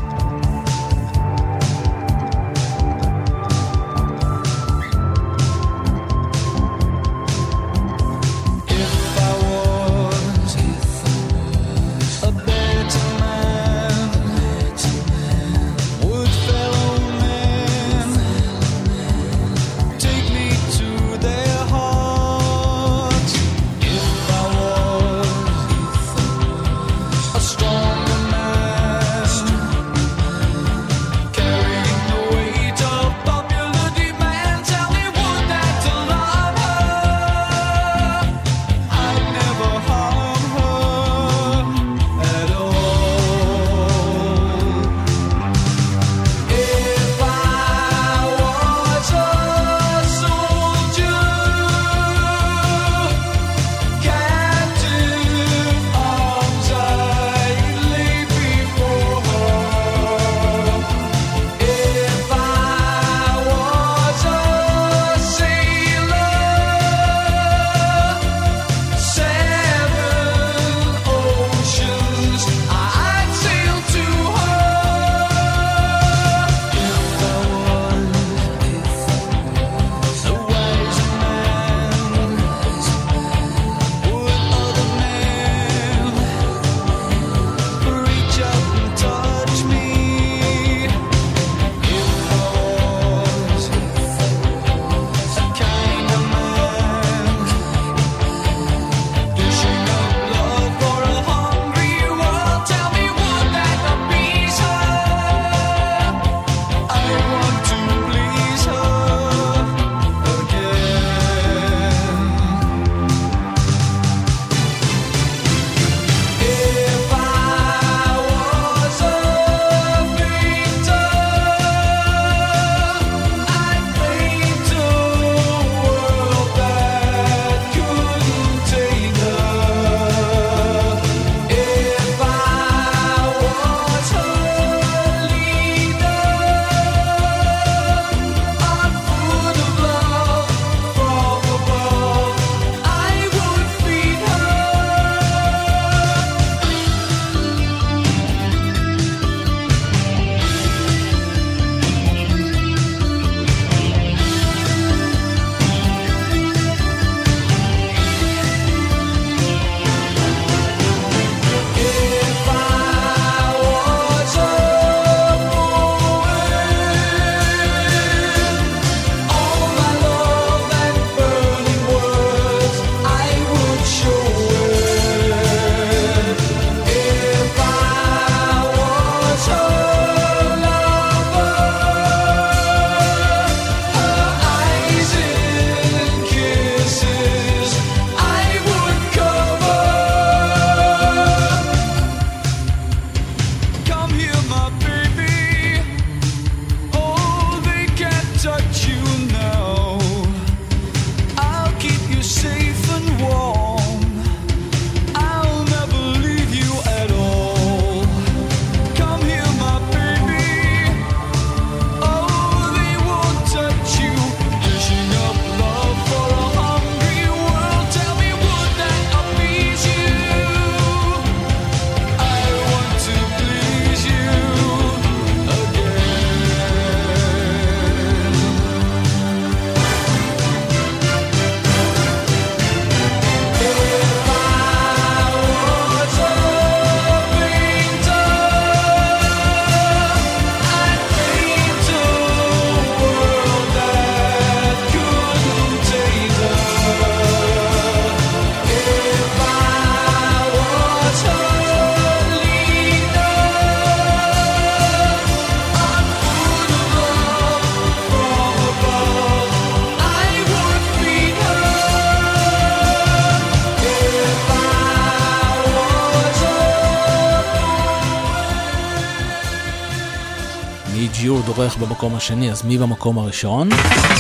ג'יור דורך במקום השני, אז מי במקום הראשון?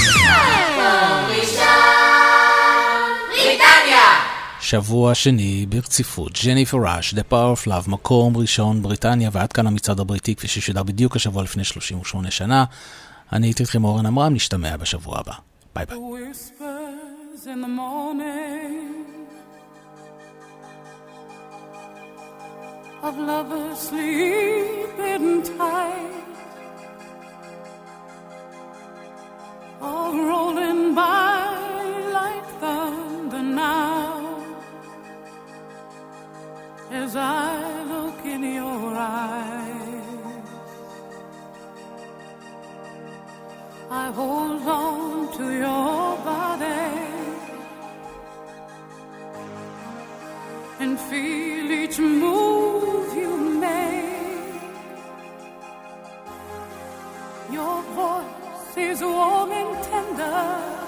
שבוע שני ברציפות, ג'ניפר ראש, The Power of Love, מקום ראשון בריטניה, ועד כאן המצעד הבריטי כפי ששודר בדיוק השבוע לפני שלושים ושמונה שנה. אני הייתי איתכם אורן אמרם, נשתמע בשבוע הבא. ביי ביי. in the morning, of lovers sleeping tight, all rolling by like thunder now, as I look in your eyes. I hold on to your body and feel each move you make. Your voice is warm and tender,